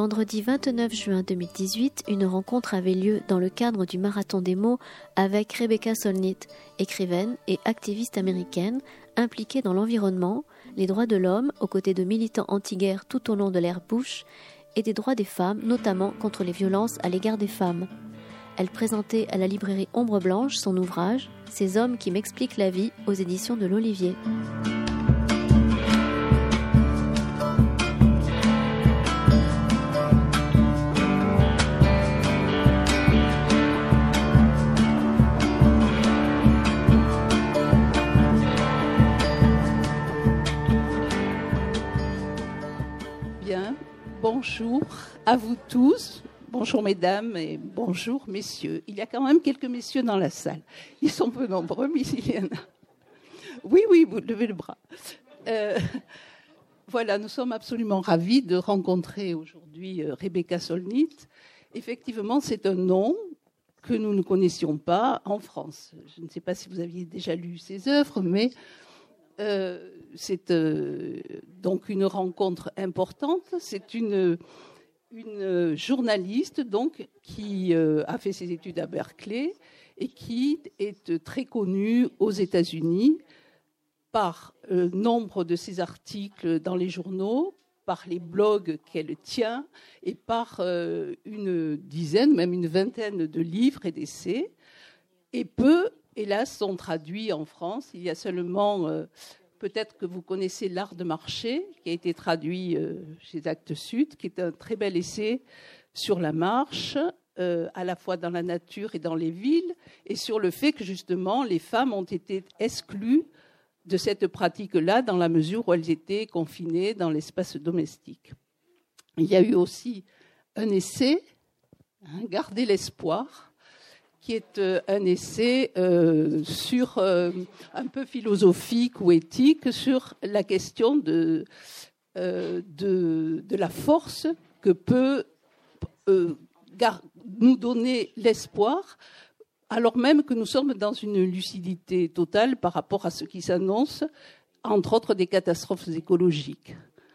vendredi 29 juin 2018, une rencontre avait lieu dans le cadre du Marathon des mots avec Rebecca Solnit, écrivaine et activiste américaine impliquée dans l'environnement, les droits de l'homme aux côtés de militants anti-guerre tout au long de l'ère Bush et des droits des femmes, notamment contre les violences à l'égard des femmes. Elle présentait à la librairie Ombre Blanche son ouvrage « Ces hommes qui m'expliquent la vie » aux éditions de l'Olivier. Bien, bonjour à vous tous. Bonjour mesdames et bonjour messieurs. Il y a quand même quelques messieurs dans la salle. Ils sont peu nombreux, mais il y en a. Oui, vous levez le bras. Voilà, nous sommes absolument ravis de rencontrer aujourd'hui Rebecca Solnit. Effectivement, c'est un nom que nous ne connaissions pas en France. Je ne sais pas si vous aviez déjà lu ses œuvres, mais c'est donc une rencontre importante. C'est une journaliste donc qui a fait ses études à Berkeley et qui est très connue aux États-Unis par nombre de ses articles dans les journaux, par les blogs qu'elle tient et par une dizaine, même une vingtaine de livres et d'essais. Et peu, hélas, sont traduits en France. Il y a seulement... Peut-être que vous connaissez L'art de marcher, qui a été traduit chez Actes Sud, qui est un très bel essai sur la marche, à la fois dans la nature et dans les villes, et sur le fait que justement les femmes ont été exclues de cette pratique-là dans la mesure où elles étaient confinées dans l'espace domestique. Il y a eu aussi un essai, Garder l'espoir, qui est un essai sur un peu philosophique ou éthique sur la question de la force que peut nous donner l'espoir, alors même que nous sommes dans une lucidité totale par rapport à ce qui s'annonce, entre autres des catastrophes écologiques.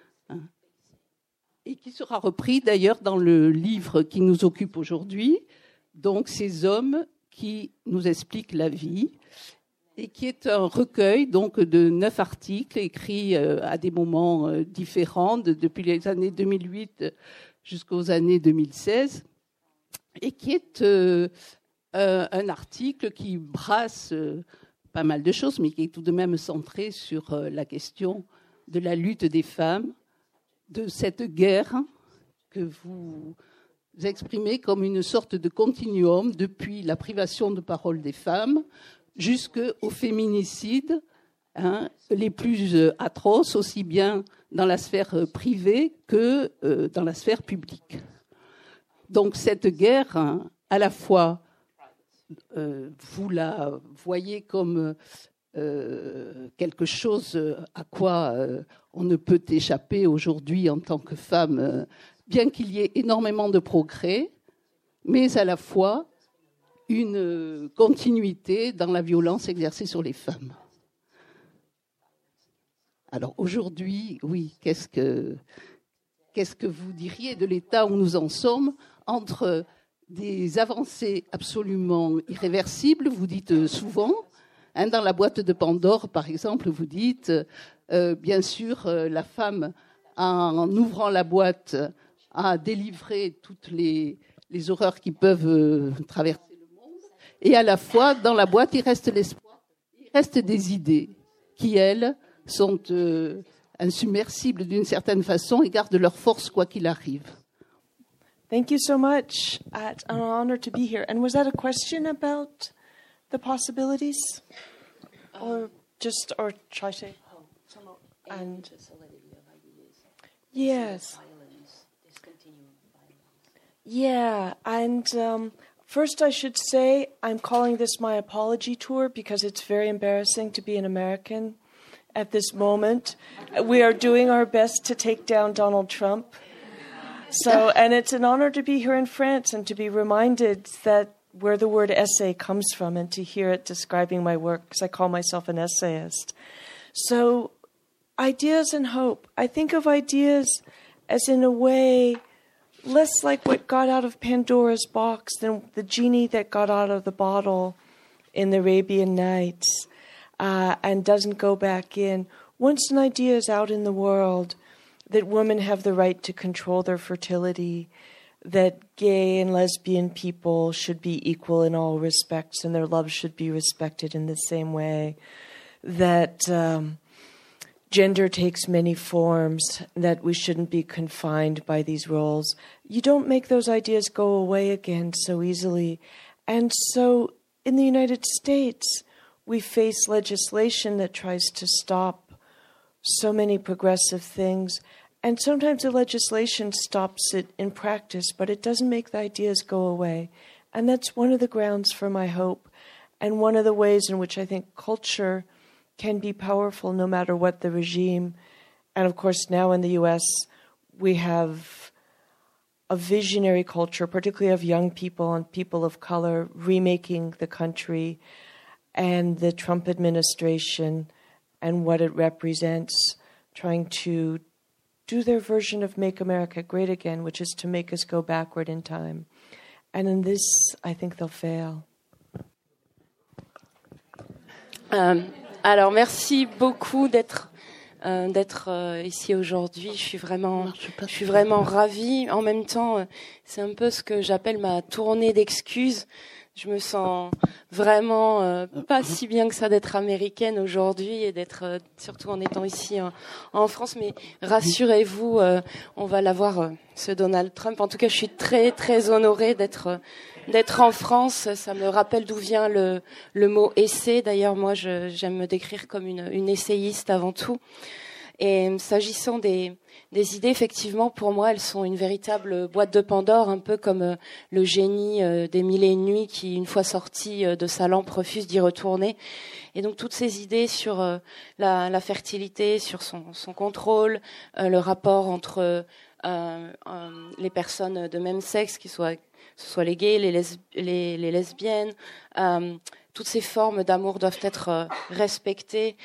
Et qui sera repris d'ailleurs dans le livre qui nous occupe aujourd'hui, donc ces hommes qui nous expliquent la vie, et qui est un recueil donc de 9 articles écrits à des moments différents, depuis les années 2008 jusqu'aux années 2016, et qui est un article qui brasse pas mal de choses, mais qui est tout de même centré sur la question de la lutte des femmes, de cette guerre que vous exprimez comme une sorte de continuum depuis la privation de parole des femmes jusqu'aux féminicides les plus atroces, aussi bien dans la sphère privée que dans la sphère publique. Donc cette guerre, à la fois, vous la voyez comme quelque chose à quoi on ne peut échapper aujourd'hui en tant que femme, bien qu'il y ait énormément de progrès, mais à la fois une continuité dans la violence exercée sur les femmes. Alors aujourd'hui, oui, qu'est-ce que vous diriez de l'état où nous en sommes entre des avancées absolument irréversibles, vous dites souvent, dans la boîte de Pandore, par exemple, vous dites, bien sûr, la femme, en ouvrant la boîte, a délivré toutes les horreurs qui peuvent traverser le monde. Et à la fois, dans la boîte, il reste l'espoir, il reste des idées qui, elles, sont insubmersibles d'une certaine façon et gardent leur force quoi qu'il arrive. Thank you so much. It's an honor to be here. And was that a question about the possibilities? Or try to say? And yes. Yeah, and first I should say I'm calling this my apology tour because it's very embarrassing to be an American at this moment. We are doing our best to take down Donald Trump. So, and it's an honor to be here in France and to be reminded that where the word essay comes from and to hear it describing my work, because I call myself an essayist. So, ideas and hope. I think of ideas as in a way less like what got out of Pandora's box than the genie that got out of the bottle in the Arabian Nights and doesn't go back in. Once an idea is out in the world that women have the right to control their fertility, that gay and lesbian people should be equal in all respects and their love should be respected in the same way, that gender takes many forms, that we shouldn't be confined by these roles. You don't make those ideas go away again so easily. And so in the United States, we face legislation that tries to stop so many progressive things. And sometimes the legislation stops it in practice, but it doesn't make the ideas go away. And that's one of the grounds for my hope, and one of the ways in which I think culture can be powerful no matter what the regime. And of course, now in the US, we have a visionary culture, particularly of young people and people of color, remaking the country, and the Trump administration and what it represents, trying to do their version of Make America Great Again, which is to make us go backward in time. And in this, I think they'll fail. Alors, merci beaucoup d'être ici aujourd'hui. Je suis vraiment ravie. En même temps, c'est un peu ce que j'appelle ma tournée d'excuses. Je me sens vraiment pas si bien que ça d'être américaine aujourd'hui et d'être surtout en étant ici en France. Mais rassurez-vous, on va l'avoir, ce Donald Trump. En tout cas, je suis très très honorée d'être en France. Ça me rappelle d'où vient le mot essai. D'ailleurs, moi, j'aime me décrire comme une essayiste avant tout. Et s'agissant des idées, effectivement, pour moi, elles sont une véritable boîte de Pandore, un peu comme le génie des Mille et une nuits qui, une fois sorti de sa lampe, refuse d'y retourner. Et donc, toutes ces idées sur la fertilité, sur son contrôle, le rapport entre les personnes de même sexe, que ce soit les gays, les lesbiennes, toutes ces formes d'amour doivent être respectées.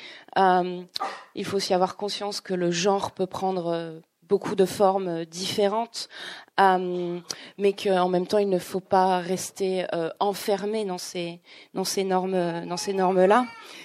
Il faut aussi avoir conscience que le genre peut prendre beaucoup de formes différentes, mais qu'en même temps, il ne faut pas rester enfermé dans ces normes-là.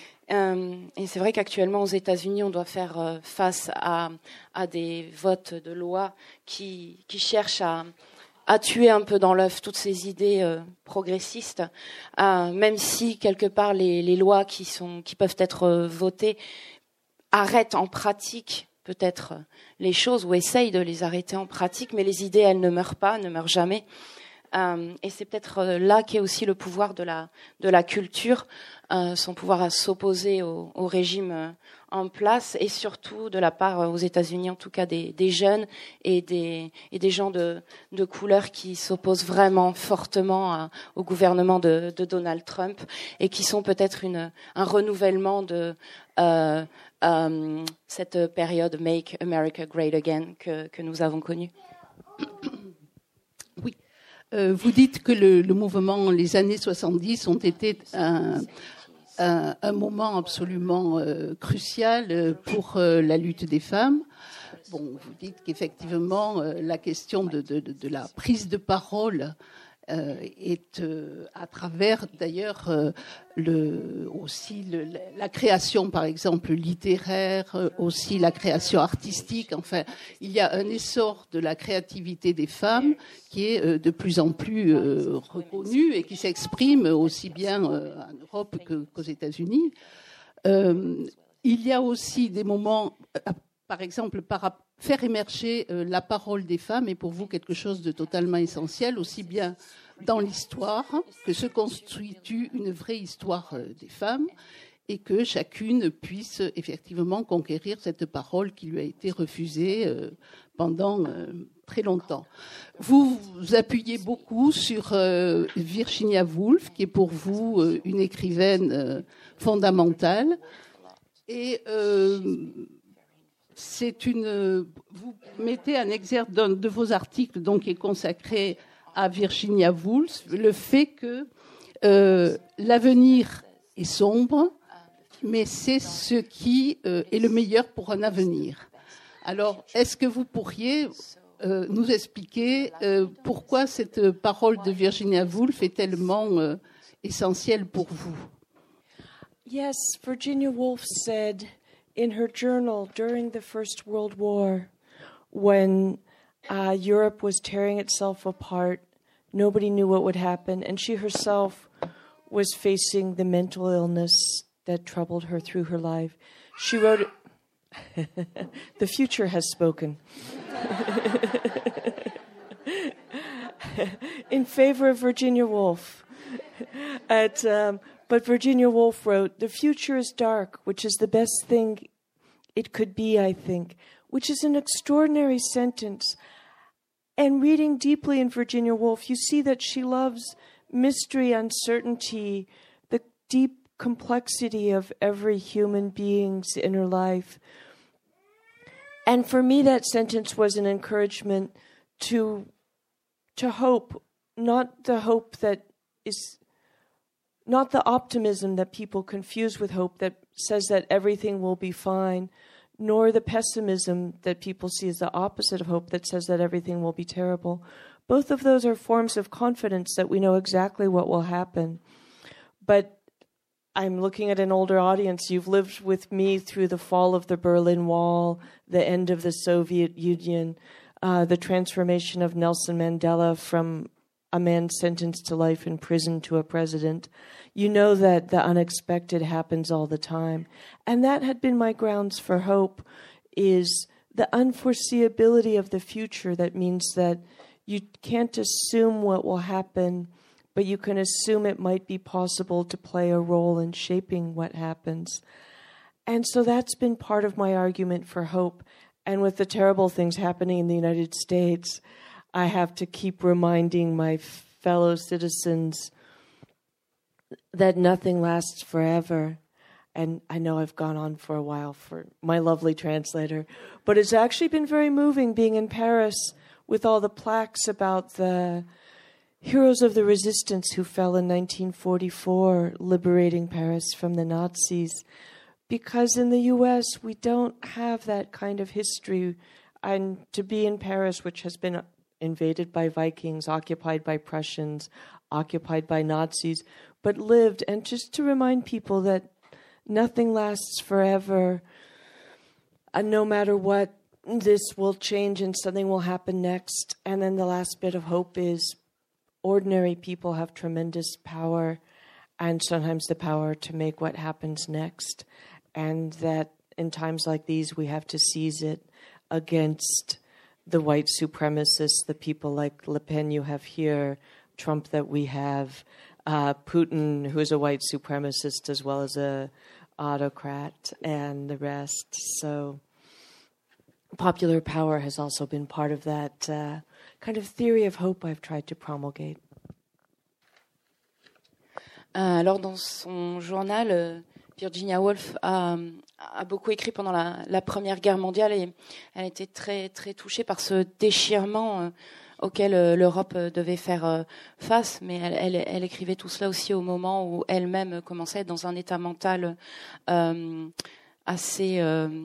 Et c'est vrai qu'actuellement, aux États-Unis, on doit faire face à des votes de loi qui cherchent à tuer un peu dans l'œuf toutes ces idées progressistes, même si quelque part les lois qui peuvent être votées arrêtent en pratique peut-être les choses ou essayent de les arrêter en pratique, mais les idées, elles ne meurent pas, ne meurent jamais. Et c'est peut-être là qu'est aussi le pouvoir de la culture, son pouvoir à s'opposer au régime en place, et surtout de la part, aux États-Unis en tout cas, des jeunes et des gens de couleur qui s'opposent vraiment fortement au gouvernement de Donald Trump et qui sont peut-être un renouvellement de cette période Make America Great Again que nous avons connue. Oui. Vous dites que le mouvement, les années 70 ont été un moment absolument crucial pour la lutte des femmes. Bon, vous dites qu'effectivement, la question de la prise de parole est à travers d'ailleurs aussi la création, par exemple, littéraire, aussi la création artistique. Enfin, il y a un essor de la créativité des femmes qui est de plus en plus reconnu et qui s'exprime aussi bien en Europe qu'aux États-Unis. Il y a aussi des moments, par exemple, faire émerger la parole des femmes est pour vous quelque chose de totalement essentiel, aussi bien dans l'histoire que se constitue une vraie histoire des femmes et que chacune puisse effectivement conquérir cette parole qui lui a été refusée pendant très longtemps. Vous appuyez beaucoup sur Virginia Woolf, qui est pour vous une écrivaine fondamentale. Et vous mettez un exergue d'un de vos articles, donc, qui est consacré à Virginia Woolf, le fait que l'avenir est sombre, mais c'est ce qui est le meilleur pour un avenir. Alors, est-ce que vous pourriez nous expliquer pourquoi cette parole de Virginia Woolf est tellement essentielle pour vous. Yes, Virginia Woolf said in her journal during the First World War, when Europe was tearing itself apart, nobody knew what would happen, and she herself was facing the mental illness that troubled her through her life. She wrote, "The future has spoken." In favor of Virginia Woolf. But Virginia Woolf wrote, "The future is dark, which is the best thing it could be, I think," which is an extraordinary sentence. And reading deeply in Virginia Woolf, you see that she loves mystery, uncertainty, the deep complexity of every human being's inner life. And for me, that sentence was an encouragement to hope, not the hope that is, not the optimism that people confuse with hope that says that everything will be fine, nor the pessimism that people see as the opposite of hope that says that everything will be terrible. Both of those are forms of confidence that we know exactly what will happen. But I'm looking at an older audience. You've lived with me through the fall of the Berlin Wall, the end of the Soviet Union, the transformation of Nelson Mandela from a man sentenced to life in prison to a president. You know that the unexpected happens all the time. And that had been my grounds for hope, is the unforeseeability of the future. That means that you can't assume what will happen, but you can assume it might be possible to play a role in shaping what happens. And so that's been part of my argument for hope. And with the terrible things happening in the United States, I have to keep reminding my fellow citizens that nothing lasts forever. And I know I've gone on for a while for my lovely translator, but it's actually been very moving being in Paris with all the plaques about the heroes of the resistance who fell in 1944, liberating Paris from the Nazis. Because in the U.S., we don't have that kind of history. And to be in Paris, which has been invaded by Vikings, occupied by Prussians, occupied by Nazis, but lived, and just to remind people that nothing lasts forever, and no matter what, this will change and something will happen next. And then the last bit of hope is ordinary people have tremendous power, and sometimes the power to make what happens next. And that in times like these, we have to seize it against the white supremacists, the people like Le Pen you have here, Trump that we have, Putin, who is a white supremacist as well as a autocrat, and the rest. So popular power has also been part of that kind of theory of hope I've tried to promulgate. Alors dans son journal, Virginia Woolf a beaucoup écrit pendant la Première Guerre mondiale et elle était très, très touchée par ce déchirement auquel l'Europe devait faire face. Mais elle écrivait tout cela aussi au moment où elle-même commençait à être dans un état mental assez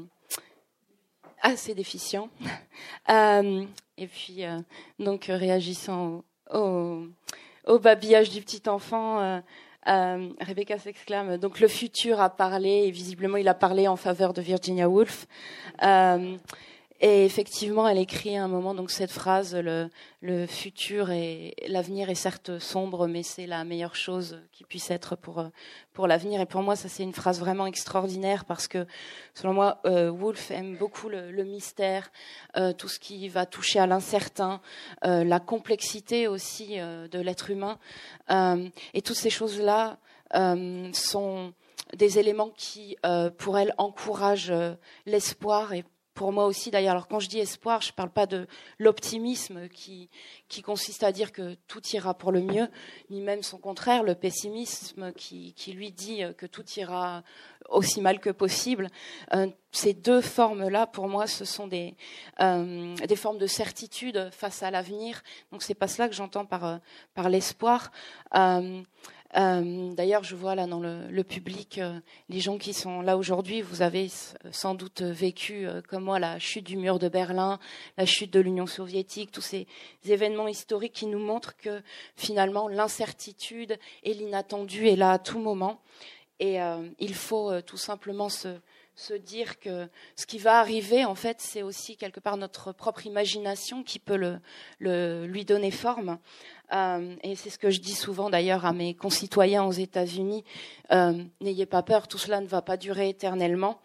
déficient. Et puis, donc, réagissant au babillage du petit enfant, Rebecca s'exclame, donc le futur a parlé, et visiblement il a parlé en faveur de Virginia Woolf. Et effectivement, elle écrit à un moment donc cette phrase, le futur et l'avenir est certes sombre, mais c'est la meilleure chose qui puisse être pour l'avenir. Et pour moi, ça c'est une phrase vraiment extraordinaire parce que, selon moi, Woolf aime beaucoup le mystère, tout ce qui va toucher à l'incertain, la complexité aussi de l'être humain. Et toutes ces choses-là sont des éléments qui, pour elle, encouragent l'espoir et pour moi aussi, d'ailleurs, alors quand je dis espoir, je ne parle pas de l'optimisme qui consiste à dire que tout ira pour le mieux, ni même son contraire, le pessimisme qui lui dit que tout ira aussi mal que possible. Ces deux formes-là, pour moi, ce sont des formes de certitude face à l'avenir. Donc, c'est pas cela que j'entends par l'espoir. D'ailleurs, je vois là dans le public, les gens qui sont là aujourd'hui, vous avez sans doute vécu, comme moi, la chute du mur de Berlin, la chute de l'Union soviétique, tous ces événements historiques qui nous montrent que finalement l'incertitude et l'inattendu est là à tout moment. Et il faut tout simplement se dire que ce qui va arriver, en fait, c'est aussi quelque part notre propre imagination qui peut lui donner forme. Et c'est ce que je dis souvent d'ailleurs à mes concitoyens aux États-Unis. N'ayez pas peur, tout cela ne va pas durer éternellement.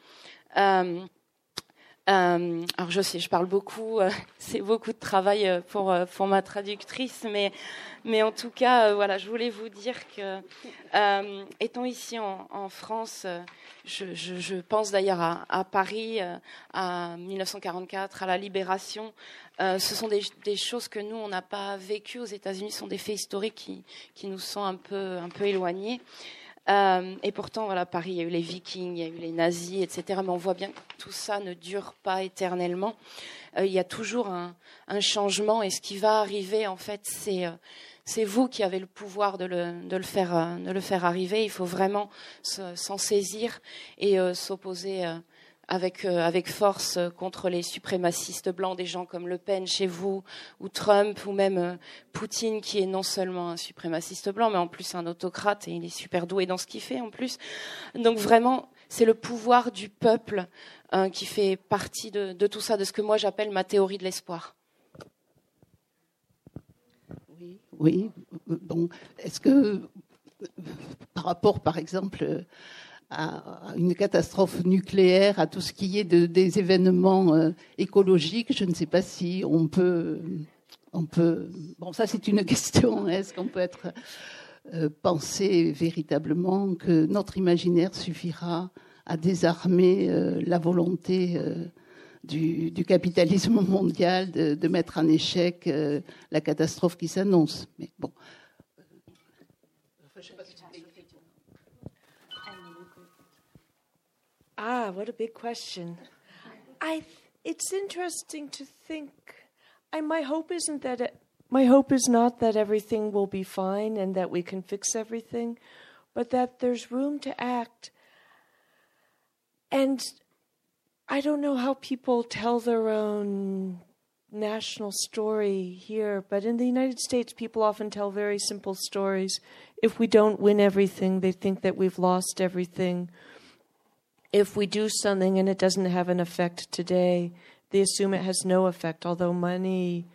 Alors je sais, je parle beaucoup, c'est beaucoup de travail pour ma traductrice, mais en tout cas, voilà, je voulais vous dire que étant ici en France, je pense d'ailleurs à Paris, à 1944, à la Libération. Ce sont des choses que nous on n'a pas vécues aux États-Unis, ce sont des faits historiques qui nous sont un peu éloignés. Et pourtant, voilà, Paris, il y a eu les Vikings, il y a eu les nazis, etc. Mais on voit bien que tout ça ne dure pas éternellement. Il y a toujours un changement, et ce qui va arriver, en fait, c'est vous qui avez le pouvoir de le faire arriver. Il faut vraiment s'en saisir et s'opposer avec force contre les suprémacistes blancs, des gens comme Le Pen chez vous, ou Trump, ou même Poutine, qui est non seulement un suprémaciste blanc, mais en plus un autocrate, et il est super doué dans ce qu'il fait en plus. Donc vraiment, c'est le pouvoir du peuple qui fait partie de tout ça, de ce que moi j'appelle ma théorie de l'espoir. Oui. Bon, est-ce que, par rapport, par exemple, à une catastrophe nucléaire, à tout ce qui est des événements écologiques, je ne sais pas si on peut. Bon, ça c'est une question. Est-ce qu'on peut penser véritablement que notre imaginaire suffira à désarmer la volonté du capitalisme mondial de mettre en échec la catastrophe qui s'annonce? Mais bon. Ah, what a big question. It's interesting to think. My hope is not that everything will be fine and that we can fix everything, but that there's room to act. And I don't know how people tell their own national story here, but in the United States, people often tell very simple stories. If we don't win everything, they think that we've lost everything. If we do something and it doesn't have an effect today, they assume it has no effect, although money,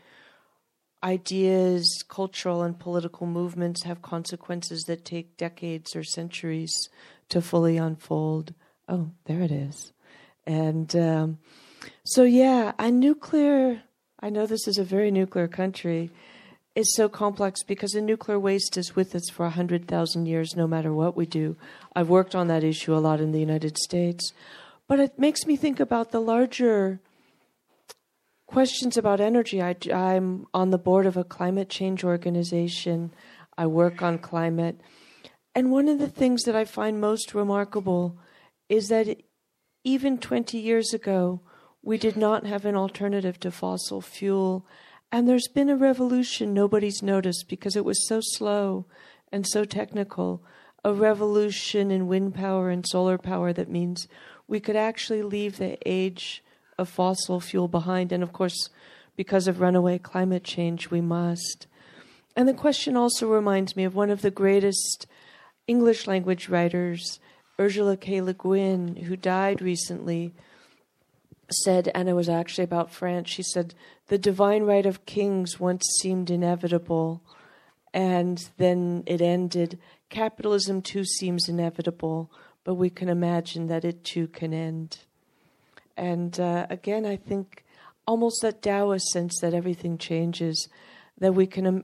ideas, cultural and political movements have consequences that take decades or centuries to fully unfold. Oh, there it is. And so, yeah, I know this is a very nuclear country. It's so complex because the nuclear waste is with us for 100,000 years, no matter what we do. I've worked on that issue a lot in the United States. But it makes me think about the larger questions about energy. I'm on the board of a climate change organization. I work on climate. And one of the things that I find most remarkable is that even 20 years ago, we did not have an alternative to fossil fuel. And there's been a revolution nobody's noticed because it was so slow and so technical, a revolution in wind power and solar power that means we could actually leave the age of fossil fuel behind. And of course, because of runaway climate change, we must. And the question also reminds me of one of the greatest English language writers, Ursula K. Le Guin, who died recently, said, and it was actually about France, she said, the divine right of kings once seemed inevitable, and then it ended. Capitalism too seems inevitable, but we can imagine that it too can end. And again, I think almost that Taoist sense that everything changes, that we can,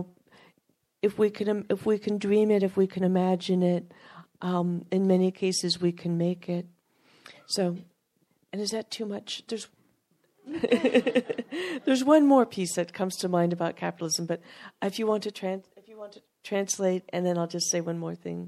if we can dream it, if we can imagine it, in many cases we can make it. So, and is that too much? There's one more piece that comes to mind about capitalism, but if you want to translate, and then I'll just say one more thing.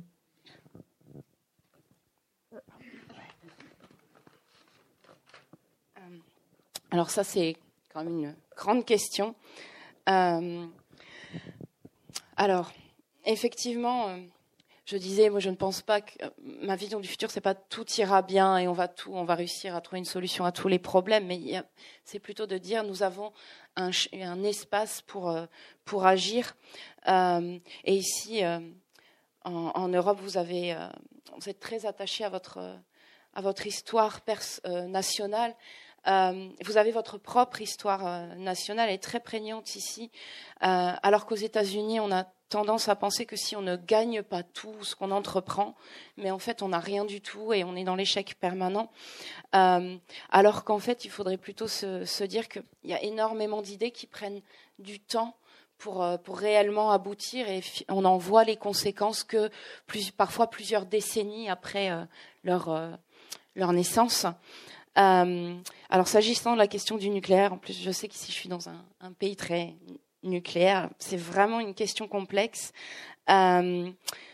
Alors ça, c'est quand même une grande question. Alors, effectivement, je disais, moi je ne pense pas que ma vision du futur, c'est pas tout ira bien et on va réussir à trouver une solution à tous les problèmes, mais c'est plutôt de dire nous avons un espace pour agir. Et ici, en Europe, vous êtes très attaché à votre histoire nationale. Vous avez votre propre histoire nationale, elle est très prégnante ici, alors qu'aux États-Unis, on a tendance à penser que si on ne gagne pas tout ce qu'on entreprend, mais en fait on n'a rien du tout et on est dans l'échec permanent, alors qu'en fait il faudrait plutôt se dire qu'il y a énormément d'idées qui prennent du temps pour réellement aboutir, et on en voit les conséquences que parfois plusieurs décennies après leur naissance. Alors s'agissant de la question du nucléaire, en plus je sais qu'ici je suis dans un pays très nucléaire, c'est vraiment une question complexe. Ça me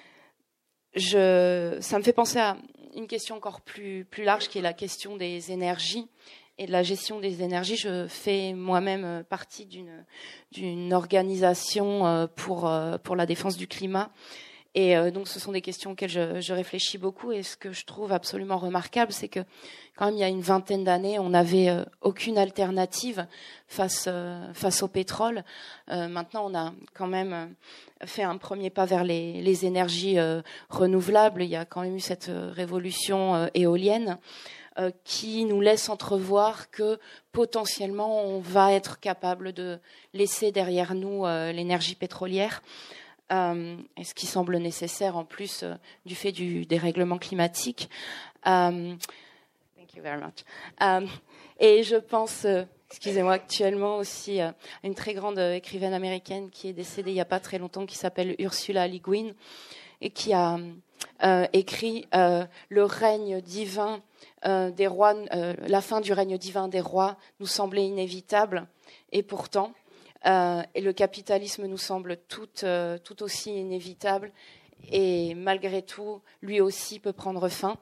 fait penser à une question encore plus large, qui est la question des énergies et de la gestion des énergies. Je fais moi-même partie d'une organisation pour la défense du climat. Et donc, ce sont des questions auxquelles je réfléchis beaucoup. Et ce que je trouve absolument remarquable, c'est que quand même, il y a une vingtaine d'années, on n'avait aucune alternative face au pétrole. Maintenant, on a quand même fait un premier pas vers les énergies renouvelables. Il y a quand même eu cette révolution éolienne qui nous laisse entrevoir que potentiellement, on va être capable de laisser derrière nous l'énergie pétrolière. Et ce qui semble nécessaire en plus du fait du dérèglement climatique. Thank you very much. Et je pense, excusez-moi, actuellement aussi à une très grande écrivaine américaine qui est décédée il n'y a pas très longtemps, qui s'appelle Ursula Le Guin, et qui a écrit le règne divin des rois, la fin du règne divin des rois nous semblait inévitable, et pourtant et le capitalisme nous semble tout aussi inévitable, et malgré tout, lui aussi peut prendre fin.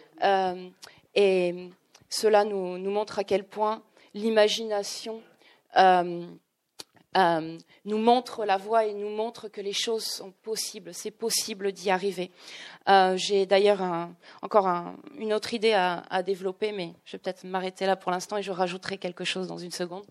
Et cela nous montre à quel point l'imagination nous montre la voie et nous montre que les choses sont possibles. C'est possible d'y arriver. J'ai d'ailleurs encore une autre idée à développer, mais je vais peut-être m'arrêter là pour l'instant et je rajouterai quelque chose dans une seconde.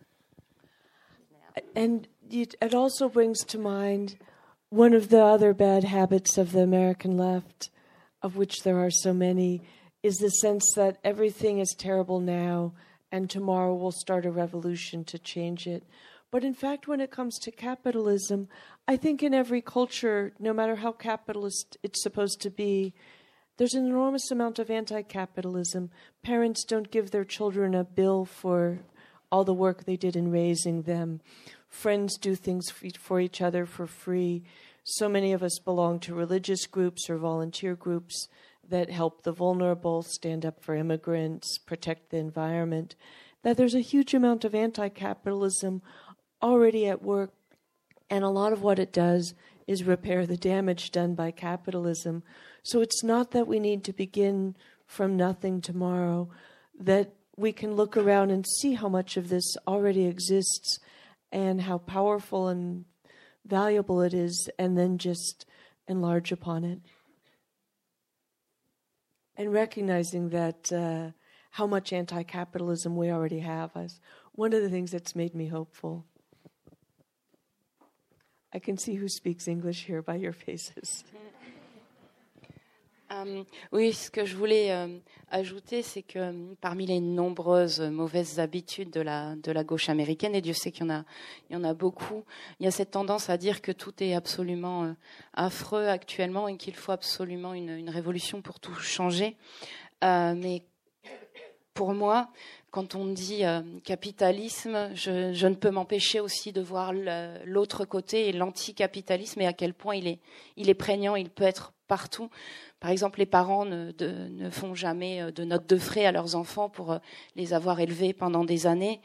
And it also brings to mind one of the other bad habits of the American left, of which there are so many, is the sense that everything is terrible now and tomorrow we'll start a revolution to change it. But in fact, when it comes to capitalism, I think in every culture, no matter how capitalist it's supposed to be, there's an enormous amount of anti-capitalism. Parents don't give their children a bill for all the work they did in raising them. Friends do things for each other for free. So many of us belong to religious groups or volunteer groups that help the vulnerable, stand up for immigrants, protect the environment, that there's a huge amount of anti-capitalism already at work. And a lot of what it does is repair the damage done by capitalism. So it's not that we need to begin from nothing tomorrow, that we can look around and see how much of this already exists and how powerful and valuable it is, and then just enlarge upon it. And recognizing that how much anti-capitalism we already have is one of the things that's made me hopeful. I can see who speaks English here by your faces. Oui, ce que je voulais ajouter, c'est que parmi les nombreuses mauvaises habitudes de la gauche américaine, et Dieu sait qu'il y en a beaucoup, il y a cette tendance à dire que tout est absolument affreux actuellement et qu'il faut absolument une révolution pour tout changer. Mais pour moi, quand on dit capitalisme, je ne peux m'empêcher aussi de voir l'autre côté et l'anticapitalisme, et à quel point il est prégnant, il peut être partout. Par exemple, les parents ne font jamais de notes de frais à leurs enfants pour les avoir élevés pendant des années.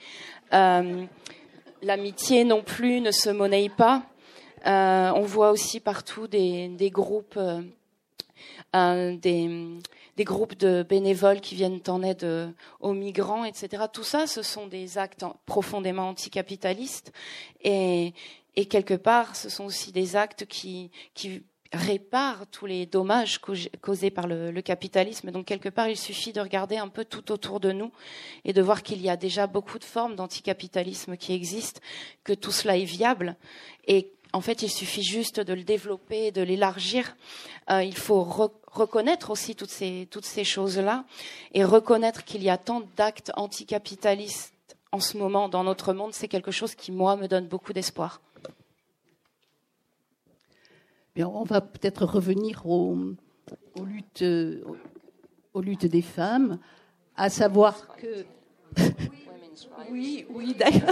L'amitié non plus ne se monnaie pas. On voit aussi partout des groupes, des groupes de bénévoles qui viennent en aide aux migrants, etc. Tout ça, ce sont des actes profondément anticapitalistes, et quelque part, ce sont aussi des actes qui répare tous les dommages causés par le capitalisme. Donc quelque part, il suffit de regarder un peu tout autour de nous et de voir qu'il y a déjà beaucoup de formes d'anticapitalisme qui existent, que tout cela est viable. Et en fait, il suffit juste de le développer, de l'élargir. Il faut reconnaître aussi toutes ces choses-là et reconnaître qu'il y a tant d'actes anticapitalistes en ce moment dans notre monde. C'est quelque chose qui, moi, me donne beaucoup d'espoir. Bien, on va peut-être revenir aux luttes des femmes, à savoir que... Oui, d'ailleurs.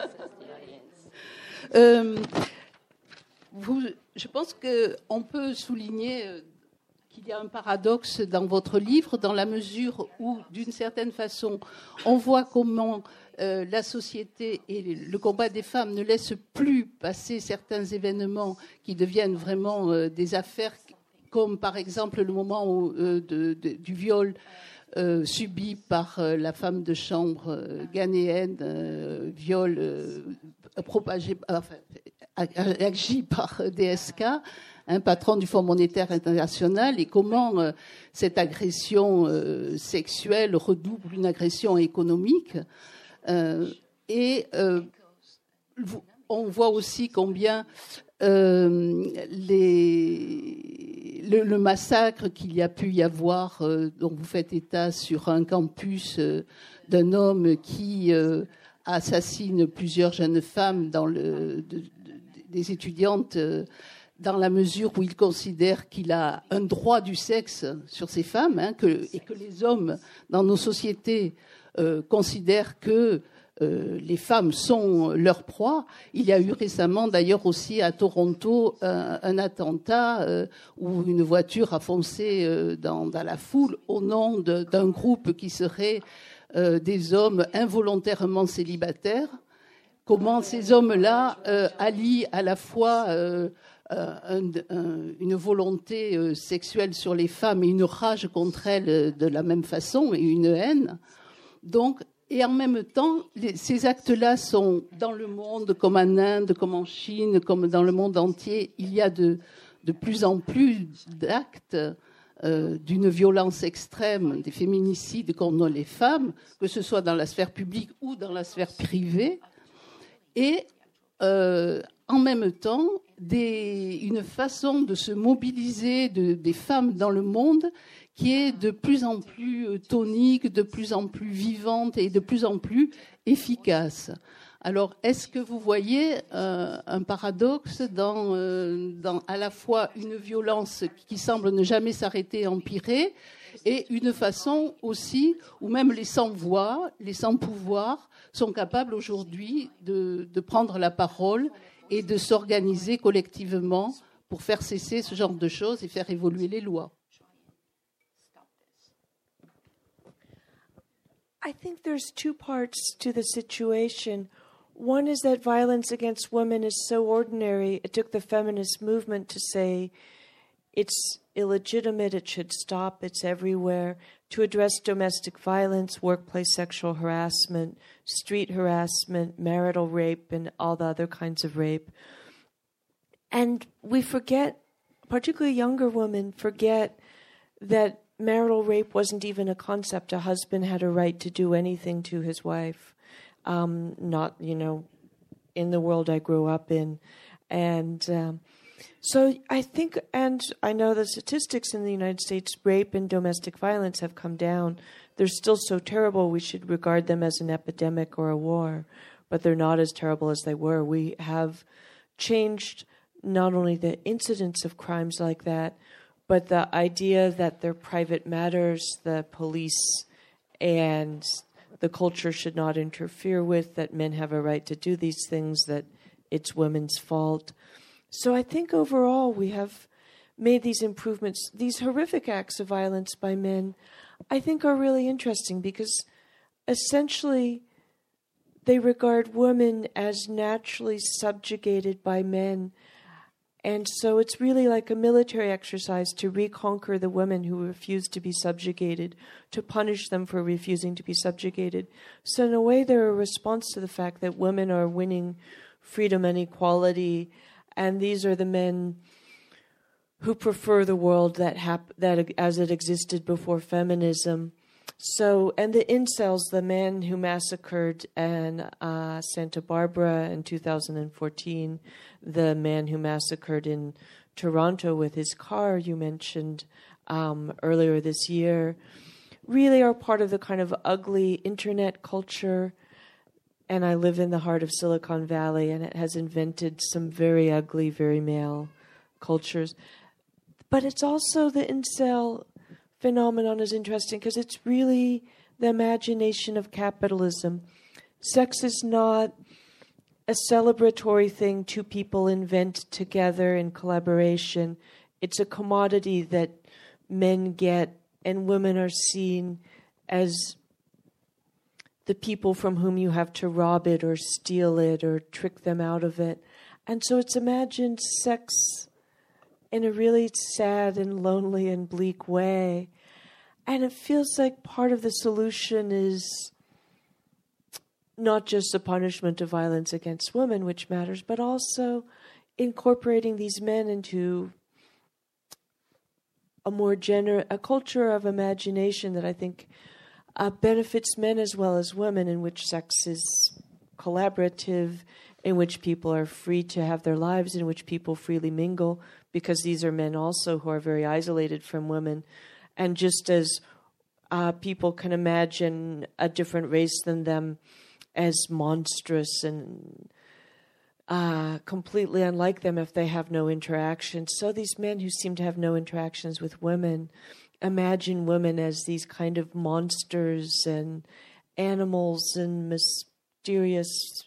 Je pense qu'on peut souligner qu'il y a un paradoxe dans votre livre, dans la mesure où, d'une certaine façon, on voit comment la société et le combat des femmes ne laissent plus passer certains événements qui deviennent vraiment des affaires, comme par exemple le moment du viol subi par la femme de chambre ghanéenne, viol propagé, agi par DSK, un patron du Fonds monétaire international, et comment cette agression sexuelle redouble une agression économique. On voit aussi combien le massacre qu'il y a pu y avoir, dont vous faites état sur un campus d'un homme qui assassine plusieurs jeunes femmes des étudiantes, dans la mesure où il considère qu'il a un droit du sexe sur ces femmes, et que les hommes dans nos sociétés considèrent que les femmes sont leur proie. Il y a eu récemment, d'ailleurs aussi à Toronto, un attentat où une voiture a foncé dans la foule au nom d'un groupe qui serait des hommes involontairement célibataires. Comment ces hommes-là allient à la fois une volonté sexuelle sur les femmes et une rage contre elles de la même façon, et une haine. Donc, et en même temps, ces actes-là sont dans le monde, comme en Inde, comme en Chine, comme dans le monde entier, il y a de plus en plus d'actes d'une violence extrême, des féminicides contre les femmes, que ce soit dans la sphère publique ou dans la sphère privée. Et en même temps, une façon de se mobiliser des femmes dans le monde qui est de plus en plus tonique, de plus en plus vivante et de plus en plus efficace. Alors, est-ce que vous voyez un paradoxe dans à la fois une violence qui semble ne jamais s'arrêter et empirer, et une façon aussi où même les sans-voix, les sans-pouvoir sont capables aujourd'hui de prendre la parole et de s'organiser collectivement pour faire cesser ce genre de choses et faire évoluer les lois? I think there's two parts to the situation. One is that violence against women is so ordinary, it took the feminist movement to say it's illegitimate, it should stop, it's everywhere, to address domestic violence, workplace sexual harassment, street harassment, marital rape, and all the other kinds of rape. And we forget, particularly younger women, forget that marital rape wasn't even a concept. A husband had a right to do anything to his wife. Not, in the world I grew up in. And so I think, and I know the statistics in the United States, rape and domestic violence have come down. They're still so terrible, we should regard them as an epidemic or a war, but they're not as terrible as they were. We have changed not only the incidence of crimes like that, but the idea that they're private matters, the police and the culture should not interfere with, that men have a right to do these things, that it's women's fault. So I think overall we have made these improvements. These horrific acts of violence by men, I think, are really interesting because essentially they regard women as naturally subjugated by men. And so it's really like a military exercise to reconquer the women who refuse to be subjugated, to punish them for refusing to be subjugated. So in a way, they're a response to the fact that women are winning freedom and equality, and these are the men who prefer the world that as it existed before feminism. So, and the incels, the man who massacred in Santa Barbara in 2014, the man who massacred in Toronto with his car you mentioned earlier this year, really are part of the kind of ugly internet culture. And I live in the heart of Silicon Valley, and it has invented some very ugly, very male cultures. But it's also the incel phenomenon is interesting because it's really the imagination of capitalism. Sex is not a celebratory thing two people invent together in collaboration. It's a commodity that men get, and women are seen as the people from whom you have to rob it or steal it or trick them out of it. And so it's imagined sex in a really sad and lonely and bleak way. And it feels like part of the solution is not just the punishment of violence against women, which matters, but also incorporating these men into a culture of imagination that I think benefits men as well as women, in which sex is collaborative, in which people are free to have their lives, in which people freely mingle, because these are men also who are very isolated from women. And just as people can imagine a different race than them as monstrous and completely unlike them if they have no interaction, so these men who seem to have no interactions with women imagine women as these kind of monsters and animals and mysterious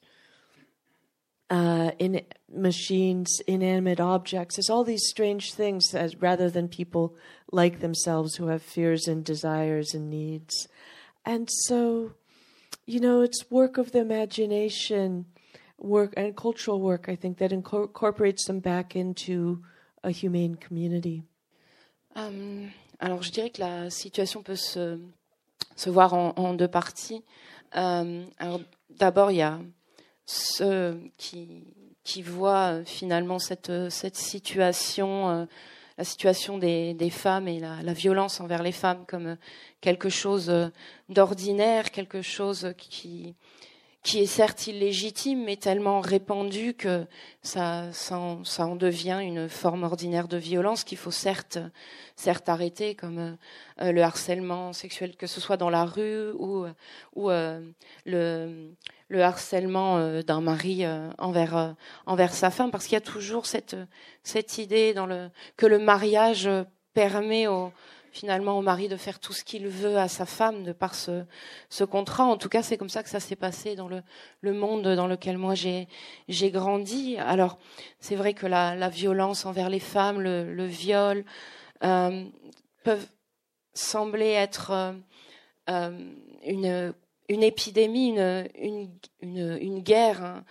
in machines, inanimate objects. There's all these strange things rather than people like themselves who have fears and desires and needs. And so, it's work of the imagination, work and cultural work, I think, that incorporates them back into a humane community. Alors, je dirais que la situation peut se voir en deux parties. Alors, d'abord, il y a ceux qui voient finalement cette situation, la situation des femmes et la violence envers les femmes comme quelque chose d'ordinaire, quelque chose qui est certes illégitime, mais tellement répandu que ça en devient une forme ordinaire de violence qu'il faut certes arrêter, comme le harcèlement sexuel, que ce soit dans la rue ou le harcèlement d'un mari envers sa femme, parce qu'il y a toujours cette idée que le mariage permet finalement au mari de faire tout ce qu'il veut à sa femme de par ce contrat. En tout cas, c'est comme ça que ça s'est passé dans le monde dans lequel moi j'ai grandi. Alors, c'est vrai que la violence envers les femmes, le viol, peuvent sembler être une épidémie, une guerre,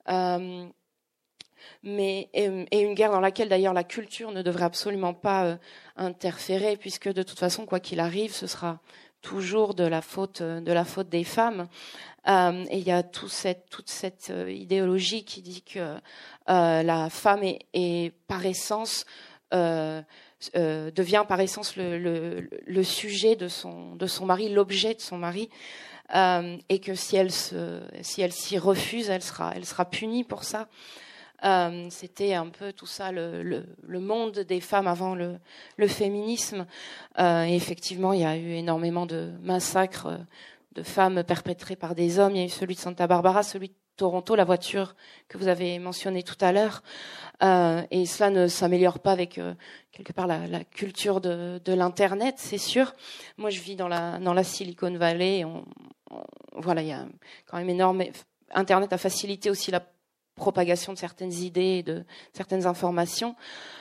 mais une guerre dans laquelle d'ailleurs la culture ne devrait absolument pas interférer, puisque de toute façon, quoi qu'il arrive, ce sera toujours de la faute des femmes. Et il y a toute cette idéologie qui dit que la femme est par essence devient par essence le sujet de son mari, l'objet de son mari, et que si elle s'y refuse, elle sera punie pour ça. C'était un peu tout ça le monde des femmes avant le féminisme. Et effectivement, il y a eu énormément de massacres de femmes perpétrés par des hommes. Il y a eu celui de Santa Barbara, celui de Toronto, la voiture que vous avez mentionnée tout à l'heure. Et cela ne s'améliore pas avec quelque part la culture de l'internet, c'est sûr. Moi, je vis dans la Silicon Valley. Voilà, il y a quand même énorme. Internet a facilité aussi la propagation de certaines idées, de certaines informations.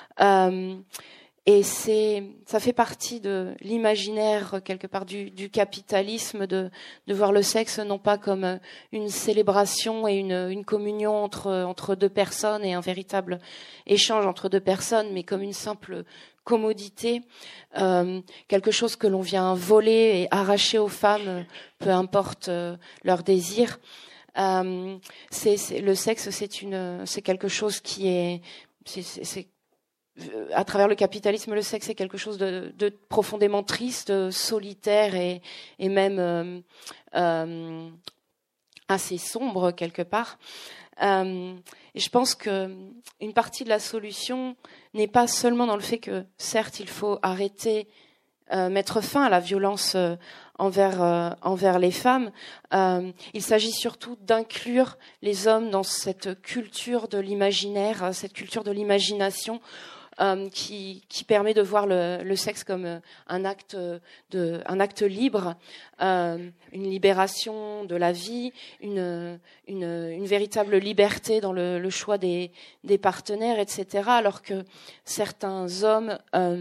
Et ça fait partie de l'imaginaire, quelque part, du capitalisme, de voir le sexe non pas comme une célébration et une communion entre deux personnes et un véritable échange entre deux personnes, mais comme une simple commodité, quelque chose que l'on vient voler et arracher aux femmes, peu importe leur désir. Le sexe, c'est quelque chose qui est à travers le capitalisme, le sexe est quelque chose de profondément triste, solitaire et même assez sombre quelque part. Et je pense que une partie de la solution n'est pas seulement dans le fait que, certes, il faut arrêter, mettre fin à la violence envers les femmes. Il s'agit surtout d'inclure les hommes dans cette culture de l'imaginaire, cette culture de l'imagination, qui permet de voir le sexe comme un acte libre, une libération de la vie, une véritable liberté dans le choix des partenaires, etc. Alors que certains hommes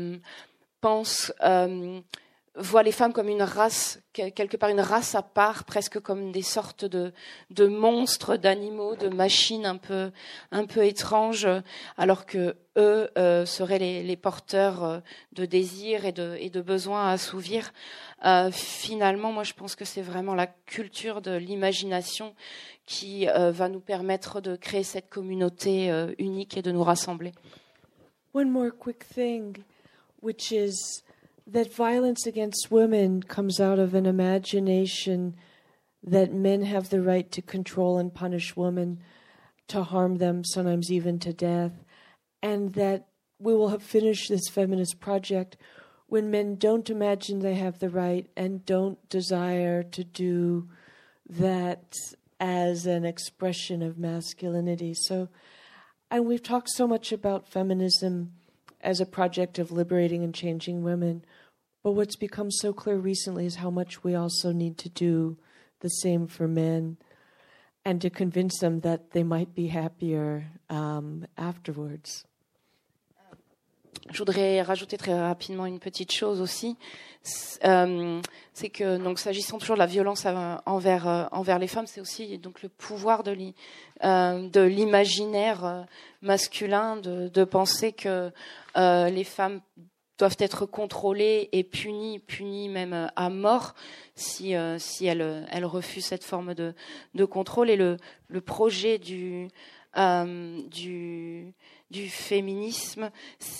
voient les femmes comme une race, quelque part une race à part, presque comme des sortes de monstres, d'animaux, de machines un peu étranges, alors que eux seraient les porteurs de désirs et de besoins à assouvir. Finalement, moi je pense que c'est vraiment la culture de l'imagination qui va nous permettre de créer cette communauté unique et de nous rassembler. One more quick thing, which is that violence against women comes out of an imagination that men have the right to control and punish women, to harm them, sometimes even to death, and that we will have finished this feminist project when men don't imagine they have the right and don't desire to do that as an expression of masculinity. So, and we've talked so much about feminism as a project of liberating and changing women. But what's become so clear recently is how much we also need to do the same for men and to convince them that they might be happier afterwards. Je voudrais rajouter très rapidement une petite chose aussi. C'est que, donc, s'agissant toujours de la violence envers les femmes, c'est aussi donc le pouvoir de l'imaginaire masculin de penser que les femmes doivent être contrôlées et punies même à mort si elles refusent cette forme de contrôle. Et le projet du féminisme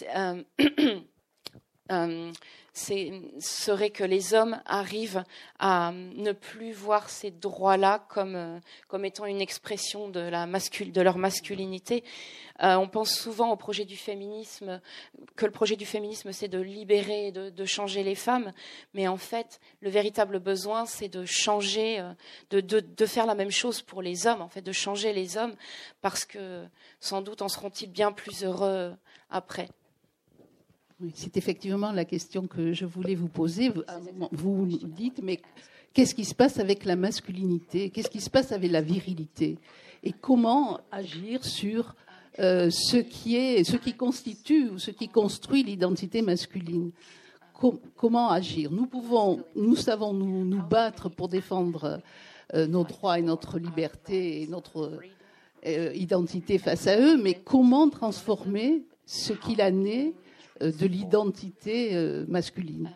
serait que les hommes arrivent à ne plus voir ces droits-là comme étant une expression de leur masculinité. On pense souvent au projet du féminisme, que le projet du féminisme c'est de libérer, de changer les femmes, mais en fait le véritable besoin c'est de changer, de faire la même chose pour les hommes, en fait de changer les hommes, parce que sans doute en seront-ils bien plus heureux après. Oui, c'est effectivement la question que je voulais vous poser. Vous dites, mais qu'est-ce qui se passe avec la masculinité? Qu'est-ce qui se passe avec la virilité? Et comment agir sur ce qui constitue ou ce qui construit l'identité masculine? Comment agir? Nous savons nous battre pour défendre nos droits et notre liberté et notre identité face à eux, mais comment transformer ce qu'il en est de l'identité masculine?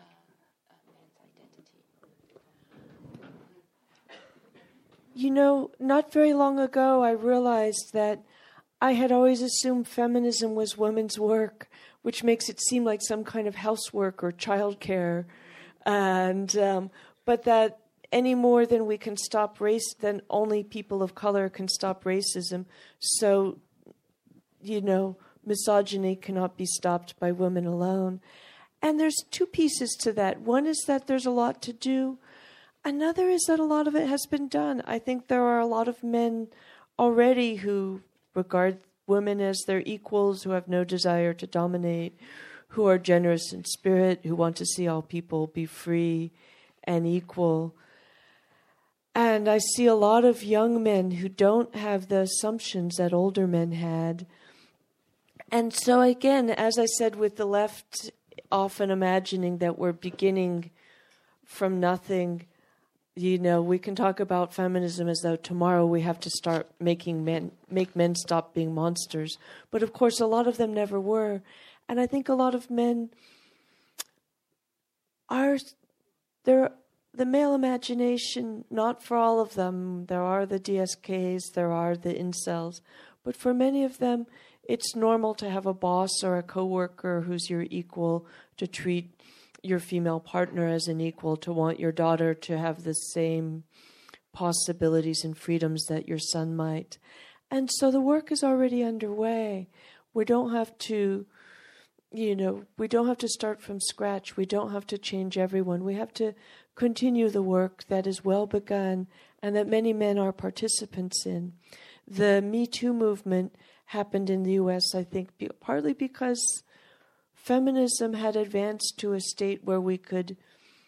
You know, not very long ago, I realized that I had always assumed feminism was women's work, which makes it seem like some kind of housework or childcare, and but that any more than we can stop race, then only people of color can stop racism. So, you know, misogyny cannot be stopped by women alone. And there's two pieces to that. One is that there's a lot to do. Another is that a lot of it has been done. I think there are a lot of men already who regard women as their equals, who have no desire to dominate, who are generous in spirit, who want to see all people be free and equal. And I see a lot of young men who don't have the assumptions that older men had. And so again, as I said, with the left often imagining that we're beginning from nothing, you know, we can talk about feminism as though tomorrow we have to start make men stop being monsters. But of course, a lot of them never were. And I think a lot of men are, the male imagination, not for all of them, there are the DSKs, there are the incels, but for many of them, it's normal to have a boss or a coworker who's your equal, to treat your female partner as an equal, to want your daughter to have the same possibilities and freedoms that your son might. And so the work is already underway. We don't have to, we don't have to start from scratch. We don't have to change everyone. We have to continue the work that is well begun and that many men are participants in. The Me Too movement happened in the U.S., I think, partly because feminism had advanced to a state where we could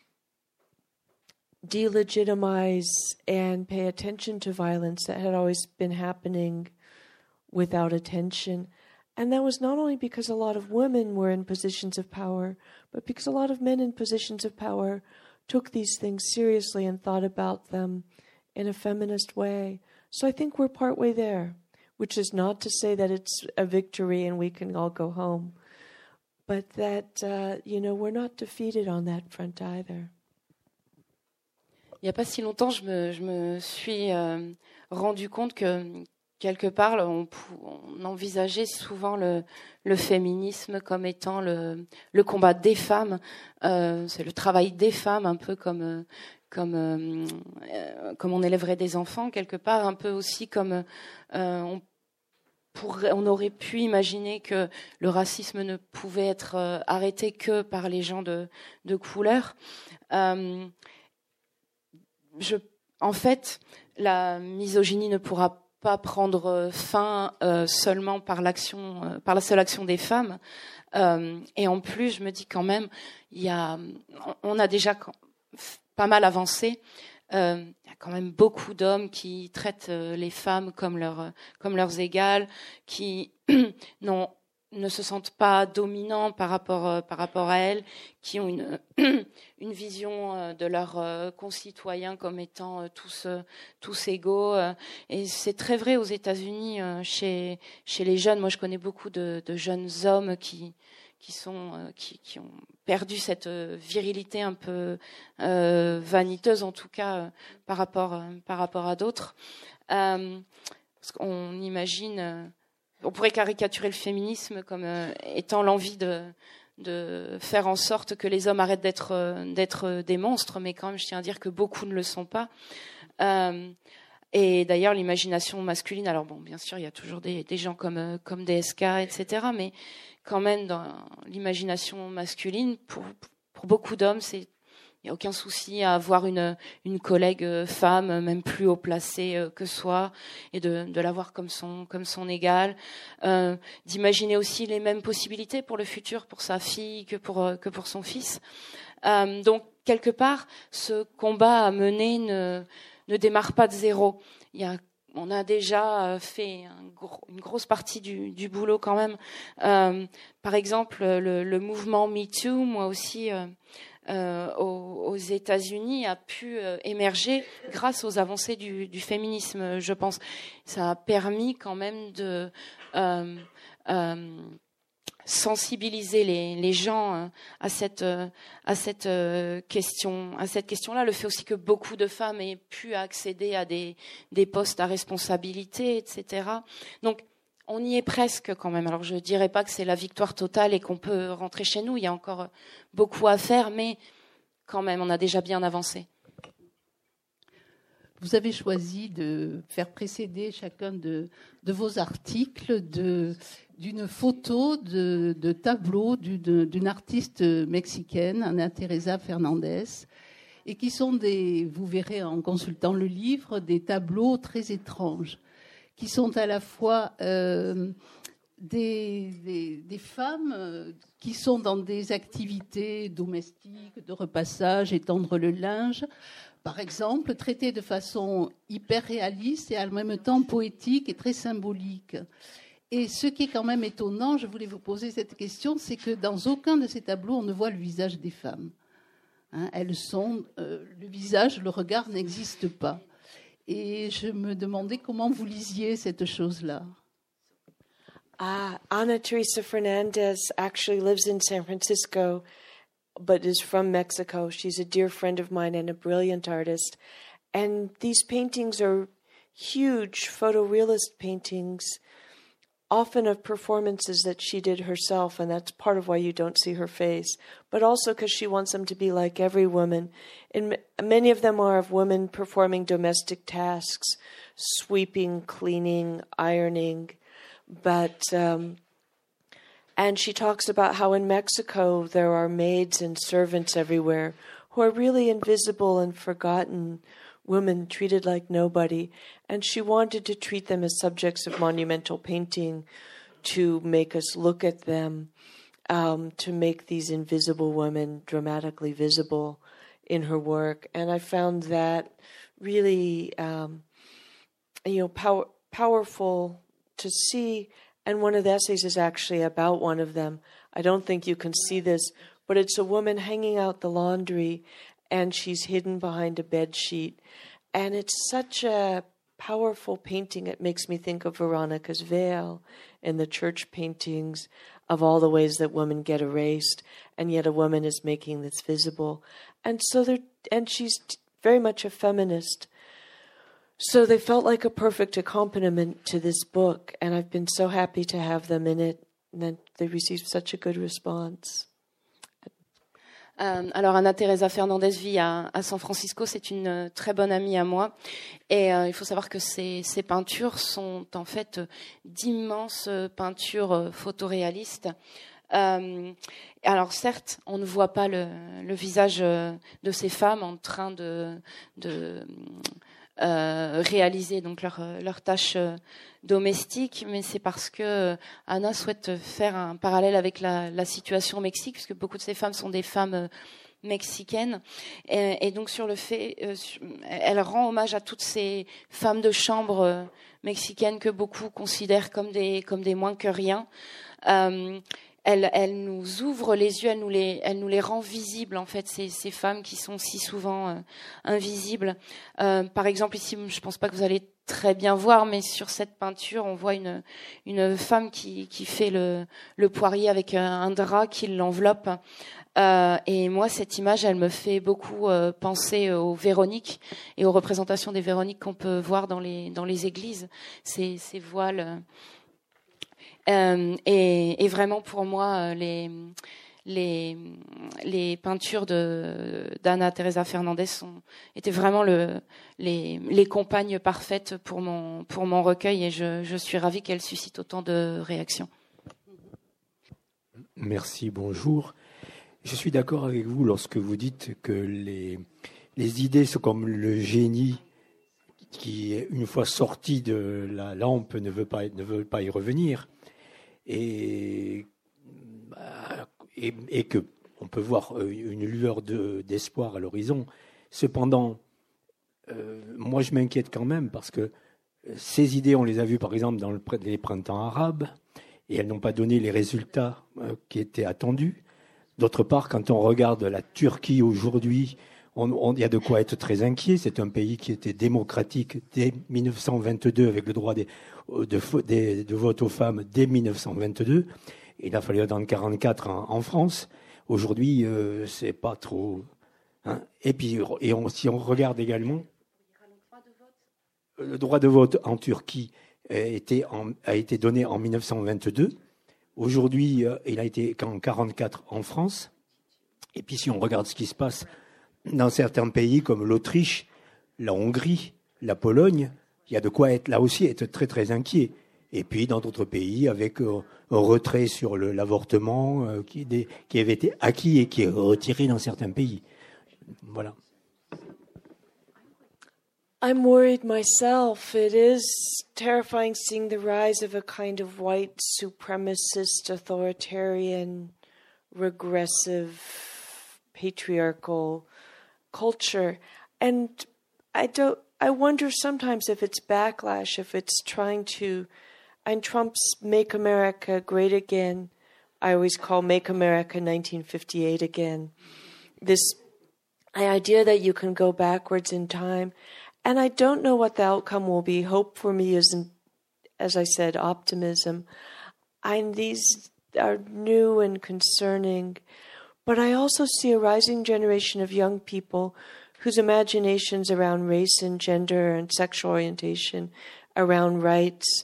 delegitimize and pay attention to violence that had always been happening without attention. And that was not only because a lot of women were in positions of power, but because a lot of men in positions of power took these things seriously and thought about them in a feminist way. So I think we're partway there, which is not to say that it's a victory and we can all go home, but that, we're not defeated on that front either. Il n'y a pas si longtemps, je me suis rendu compte que quelque part, on envisageait souvent le féminisme comme étant le combat des femmes. C'est le travail des femmes, un peu comme on élèverait des enfants quelque part, un peu aussi comme on aurait pu imaginer que le racisme ne pouvait être arrêté que par les gens de couleur. En fait, la misogynie ne pourra pas prendre fin seulement par la seule action des femmes. Et en plus, je me dis quand même, on a déjà pas mal avancé. Il y a quand même beaucoup d'hommes qui traitent les femmes comme leurs égales, qui ne se sentent pas dominants par rapport à elles, qui ont une vision de leurs concitoyens comme étant tous égaux. Et c'est très vrai aux États-Unis, chez les jeunes. Moi, je connais beaucoup de jeunes hommes qui ont perdu cette virilité un peu vaniteuse, en tout cas par rapport à d'autres. Parce qu'on imagine... On pourrait caricaturer le féminisme comme étant l'envie de faire en sorte que les hommes arrêtent d'être des monstres, mais quand même, je tiens à dire que beaucoup ne le sont pas. Et d'ailleurs, l'imagination masculine, alors bon, bien sûr, il y a toujours des gens comme DSK, etc., mais quand même, dans l'imagination masculine, pour beaucoup d'hommes, il n'y a aucun souci à avoir une collègue femme, même plus haut placée que soi, et de la voir comme son égale. D'imaginer aussi les mêmes possibilités pour le futur, pour sa fille, que pour son fils. Donc, quelque part, ce combat à mener ne démarre pas de zéro. On a déjà fait une grosse partie du boulot quand même. Par exemple, le mouvement MeToo, moi aussi... aux États-Unis a pu émerger grâce aux avancées du féminisme, je pense. Ça a permis quand même de sensibiliser les gens à cette question-là. Le fait aussi que beaucoup de femmes aient pu accéder à des postes à responsabilité, etc. Donc on y est presque quand même. Alors je ne dirais pas que c'est la victoire totale et qu'on peut rentrer chez nous. Il y a encore beaucoup à faire, mais quand même, on a déjà bien avancé. Vous avez choisi de faire précéder chacun de vos articles d'une photo de tableau d'une artiste mexicaine, Ana Teresa Fernandez, et qui sont vous verrez en consultant le livre, des tableaux très étranges, qui sont à la fois des femmes qui sont dans des activités domestiques, de repassage, étendre le linge, par exemple, traitées de façon hyper réaliste et en même temps poétique et très symbolique. Et ce qui est quand même étonnant, je voulais vous poser cette question, c'est que dans aucun de ces tableaux, on ne voit le visage des femmes. Elles sont, le visage, le regard n'existe pas. Et je me demandais comment vous lisiez cette chose-là. Ana Teresa Fernandez actually lives in San Francisco, but is from Mexico. She's a dear friend of mine and a brilliant artist. And these paintings are huge photorealist paintings often of performances that she did herself, and that's part of why you don't see her face, but also because she wants them to be like every woman. And many of them are of women performing domestic tasks, sweeping, cleaning, ironing, but and she talks about how in Mexico there are maids and servants everywhere who are really invisible and forgotten women treated like nobody. And she wanted to treat them as subjects of monumental painting, to make us look at them, to make these invisible women dramatically visible in her work. And I found that really, powerful to see. And one of the essays is actually about one of them. I don't think you can see this, but it's a woman hanging out the laundry, and she's hidden behind a bed sheet. And it's such a powerful painting. It makes me think of Veronica's veil in the church paintings, of all the ways that women get erased, and yet a woman is making this visible. And she's very much a feminist. So they felt like a perfect accompaniment to this book, and I've been so happy to have them in it, and that they received such a good response. Alors Anna Teresa Fernandez vit à San Francisco, c'est une très bonne amie à moi, et il faut savoir que ces peintures sont en fait d'immenses peintures photoréalistes. Alors certes, on ne voit pas le visage de ces femmes en train de réaliser donc leur tâche domestique, mais c'est parce que Anna souhaite faire un parallèle avec la situation au Mexique, puisque beaucoup de ces femmes sont des femmes mexicaines, et donc sur le fait, elle rend hommage à toutes ces femmes de chambre mexicaines que beaucoup considèrent comme des moins que rien. Elle nous ouvre les yeux, elle nous les rend visibles, en fait, ces femmes qui sont si souvent invisibles. Par exemple, ici, je pense pas que vous allez très bien voir, mais sur cette peinture, on voit une femme qui fait le poirier avec un drap qui l'enveloppe. Et moi, cette image, elle me fait beaucoup penser aux Véroniques et aux représentations des Véroniques qu'on peut voir dans les églises, ces voiles. Et vraiment pour moi les peintures d'Anna Teresa Fernandez étaient vraiment les compagnes parfaites pour mon recueil, et je suis ravie qu'elles suscitent autant de réactions. Merci, bonjour. Je suis d'accord avec vous lorsque vous dites que les idées sont comme le génie qui, une fois sorti de la lampe, ne veut pas y revenir. Et que on peut voir une lueur d'espoir à l'horizon. Cependant, moi je m'inquiète quand même, parce que ces idées, on les a vues par exemple dans les printemps arabes, et elles n'ont pas donné les résultats qui étaient attendus. D'autre part, quand on regarde la Turquie aujourd'hui, il y a de quoi être très inquiet. C'est un pays qui était démocratique dès 1922, avec le droit de vote aux femmes dès 1922. Il a fallu attendre 1944 en France. Aujourd'hui, c'est pas trop. Hein. Et puis, si on regarde également, le droit de vote en Turquie a été donné en 1922. Aujourd'hui, il a été en 1944 en France. Et puis, si on regarde ce qui se passe dans certains pays comme l'Autriche, la Hongrie, la Pologne, il y a de quoi être là aussi être très très inquiet. Et puis dans d'autres pays, avec un retrait sur l'avortement qui avait été acquis et qui est retiré dans certains pays. Voilà. I'm worried myself. It is terrifying seeing the rise of a kind of white supremacist, authoritarian, regressive, patriarchal culture. And I wonder sometimes if it's backlash, if it's trying to, and Trump's Make America Great Again, I always call Make America 1958 again, this idea that you can go backwards in time. And I don't know what the outcome will be. Hope for me isn't, as I said, optimism. These are new and concerning. But I also see a rising generation of young people whose imaginations around race and gender and sexual orientation, around rights,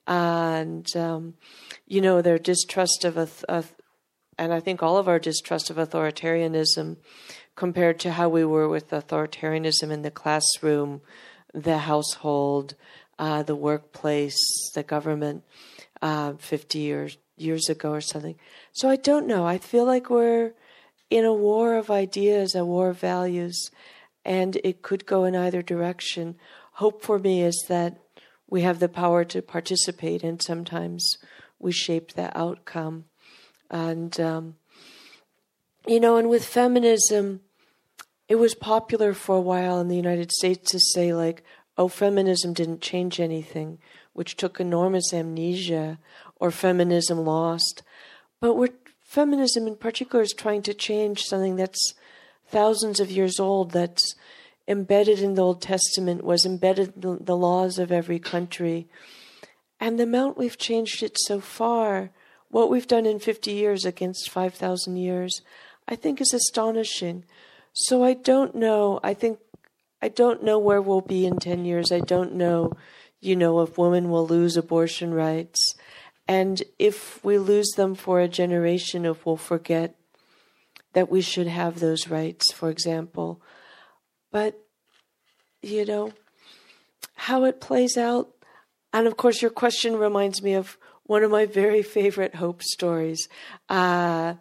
and their distrust of and I think all of our distrust of authoritarianism compared to how we were with authoritarianism in the classroom, the household, the workplace, the government 50 years ago or something. So I don't know. I feel like we're in a war of ideas, a war of values, and it could go in either direction. Hope for me is that we have the power to participate, and sometimes we shape the outcome. And, and with feminism, it was popular for a while in the United States to say, like, oh, feminism didn't change anything, which took enormous amnesia, or feminism lost. But feminism in particular is trying to change something that's thousands of years old, that's embedded in the Old Testament, was embedded in the laws of every country. And the amount we've changed it so far, what we've done in 50 years against 5,000 years, I think is astonishing. So I don't know. I don't know where we'll be in 10 years. I don't know, if women will lose abortion rights. And if we lose them for a generation, if we'll forget that we should have those rights, for example. But, how it plays out. And of course, your question reminds me of one of my very favorite hope stories. A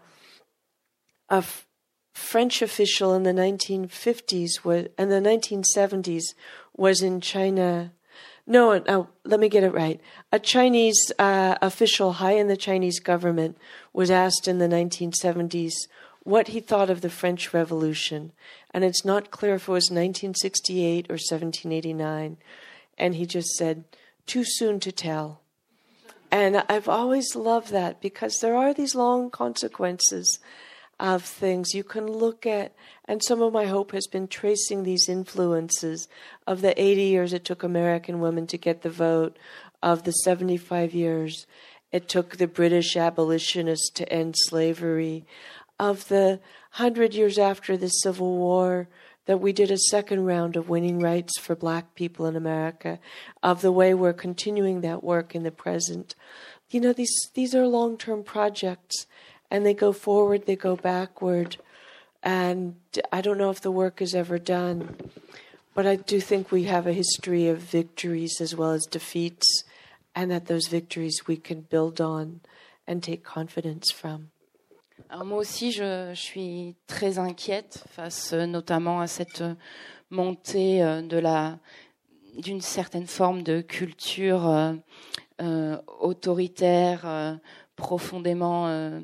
French official in the 1950s and the 1970s was in China. No, let me get it right. A Chinese official high in the Chinese government was asked in the 1970s what he thought of the French Revolution. And it's not clear if it was 1968 or 1789. And he just said, too soon to tell. And I've always loved that because there are these long consequences of things you can look at. And some of my hope has been tracing these influences of the 80 years it took American women to get the vote, of the 75 years it took the British abolitionists to end slavery, of the 100 years after the Civil War that we did a second round of winning rights for black people in America, of the way we're continuing that work in the present. These are long-term projects, and they go forward, they go backward, and I don't know if the work is ever done, but I do think we have a history of victories as well as defeats, and that those victories we can build on and take confidence from. Alors moi aussi, je suis très inquiète face notamment à cette montée d'une certaine forme de culture autoritaire, profondément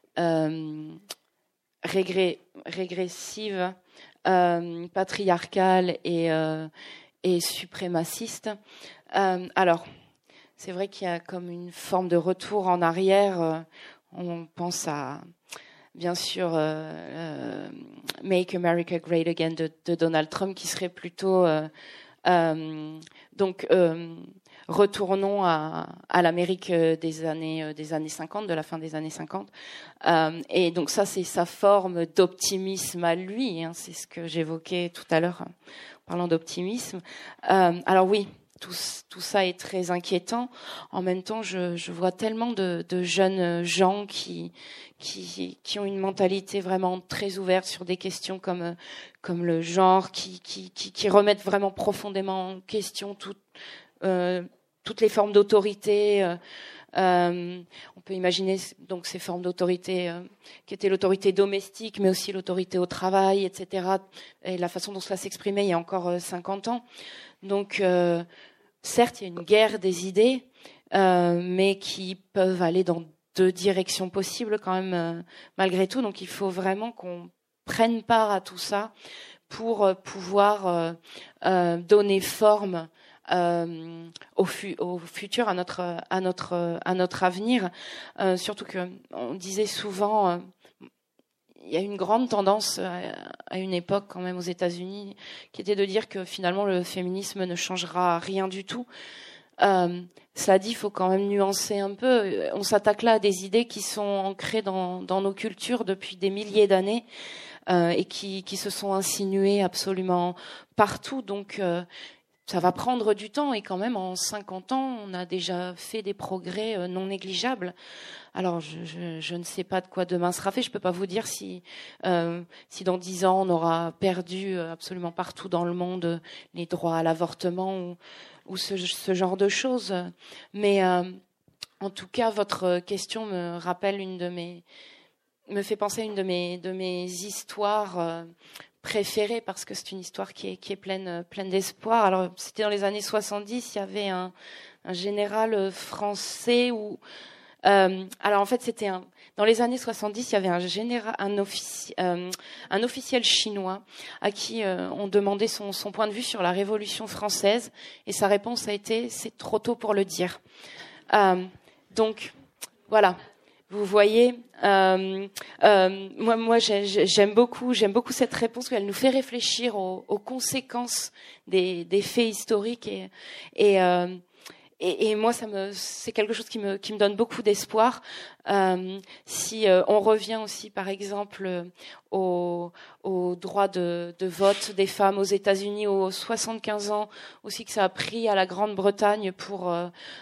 régressive, patriarcale et suprémaciste. Alors, c'est vrai qu'il y a comme une forme de retour en arrière. On pense à, bien sûr, Make America Great Again de Donald Trump, qui serait plutôt retournons à l'Amérique des années 50, de la fin des années 50. Et donc ça, c'est sa forme d'optimisme à lui. Hein, c'est ce que j'évoquais tout à l'heure en parlant d'optimisme. Alors oui, tout ça est très inquiétant. En même temps, je vois tellement de jeunes gens qui ont une mentalité vraiment très ouverte sur des questions comme le genre, qui remettent vraiment profondément en question toutes les formes d'autorité. On peut imaginer donc ces formes d'autorité qui étaient l'autorité domestique, mais aussi l'autorité au travail, etc. Et la façon dont cela s'exprimait il y a encore 50 ans. Donc, certes, il y a une guerre des idées, mais qui peuvent aller dans deux directions possibles quand même, malgré tout. Donc, il faut vraiment qu'on prenne part à tout ça pour pouvoir donner forme au futur, à notre avenir. Surtout que on disait souvent, il y a une grande tendance à une époque quand même aux États-Unis qui était de dire que finalement le féminisme ne changera rien du tout. Cela dit, il faut quand même nuancer un peu. On s'attaque là à des idées qui sont ancrées dans nos cultures depuis des milliers d'années et qui se sont insinuées absolument partout. Donc ça va prendre du temps, et quand même en 50 ans, on a déjà fait des progrès non négligeables. Alors, je ne sais pas de quoi demain sera fait. Je ne peux pas vous dire si dans 10 ans, on aura perdu absolument partout dans le monde les droits à l'avortement ou ce genre de choses. Mais en tout cas, votre question me rappelle me fait penser à une de mes histoires préférée, parce que c'est une histoire qui est pleine d'espoir. Alors, c'était dans les années 70, il y avait un général français alors en fait, dans les années 70, il y avait un officiel chinois à qui on demandait son point de vue sur la Révolution française, et sa réponse a été: c'est trop tôt pour le dire. Donc, voilà. Vous voyez, moi, j'aime beaucoup cette réponse, parce qu'elle nous fait réfléchir aux conséquences des faits historiques, et moi, c'est quelque chose qui me donne beaucoup d'espoir. Si on revient aussi, par exemple, au droit de vote des femmes aux États-Unis, aux 75 ans aussi que ça a pris à la Grande-Bretagne pour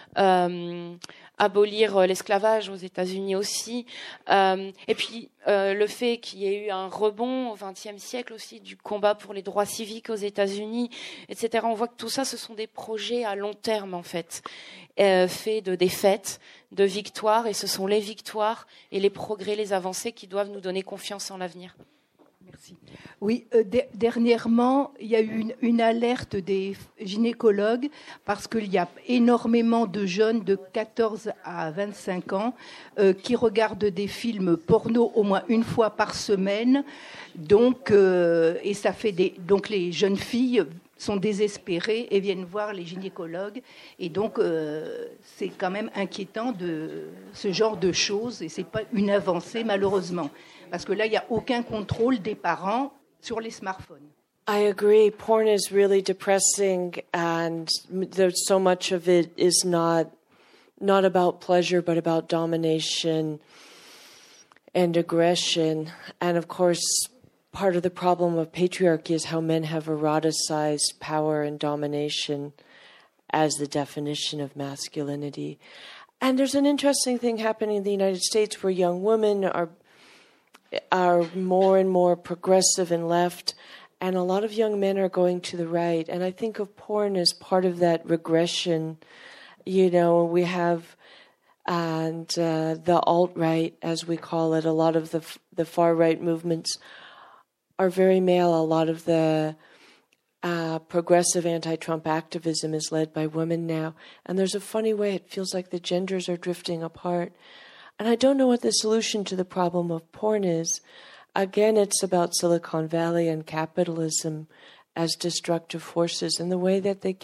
abolir l'esclavage aux États-Unis aussi. Et puis le fait qu'il y ait eu un rebond au XXe siècle aussi du combat pour les droits civiques aux États-Unis, etc. On voit que tout ça, ce sont des projets à long terme, en fait, faits de défaites, de victoires, et ce sont les victoires et les progrès, les avancées qui doivent nous donner confiance en l'avenir. Merci. Oui, dernièrement, il y a eu une alerte des gynécologues, parce qu'il y a énormément de jeunes de 14 à 25 ans qui regardent des films porno au moins une fois par semaine. Donc, et ça fait donc les jeunes filles sont désespérées et viennent voir les gynécologues. Et donc, c'est quand même inquiétant de ce genre de choses, et c'est pas une avancée, malheureusement. Parce que là, il n'y a aucun contrôle des parents sur les smartphones. I agree. Porn is really depressing, and there's so much of it is not about pleasure, but about domination and aggression. And of course, part of the problem of patriarchy is how men have eroticized power and domination as the definition of masculinity. And there's an interesting thing happening in the United States, where young women are more and more progressive and left, and a lot of young men are going to the right. And I think of porn as part of that regression. You know, we have the alt-right, as we call it. A lot of the far-right movements are very male. A lot of the progressive anti-Trump activism is led by women now. And there's a funny way, it feels like the genders are drifting apart. And I don't know what the solution to the problem of porn is. Again, it's about Silicon Valley and capitalism as destructive forces, and the way that they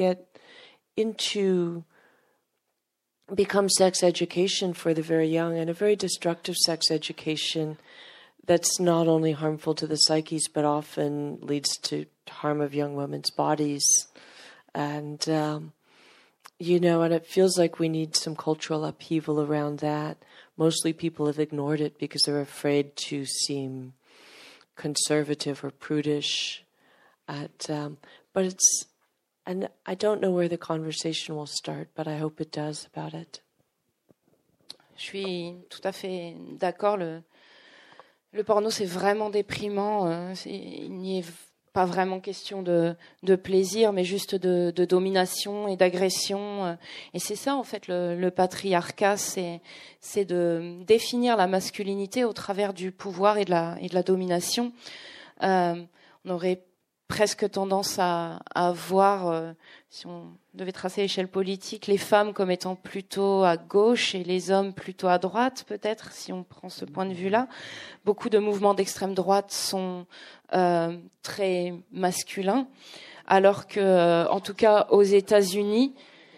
become sex education for the very young, and a very destructive sex education that's not only harmful to the psyches, but often leads to harm of young women's bodies. And, and it feels like we need some cultural upheaval around that. Mostly people have ignored it because they're afraid to seem conservative or prudish. But and I don't know where the conversation will start, but I hope it does about it. Je suis tout à fait d'accord. Le porno, c'est vraiment déprimant. Il n'y est pas vraiment question de plaisir, mais juste de domination et d'agression. Et c'est ça, en fait, le patriarcat, c'est de définir la masculinité au travers du pouvoir et de la domination. On aurait presque tendance à voir, si on devait tracer l'échelle politique, les femmes comme étant plutôt à gauche et les hommes plutôt à droite, peut-être, si on prend ce point de vue-là. Beaucoup de mouvements d'extrême droite sont très masculins, alors que, en tout cas, aux États-Unis,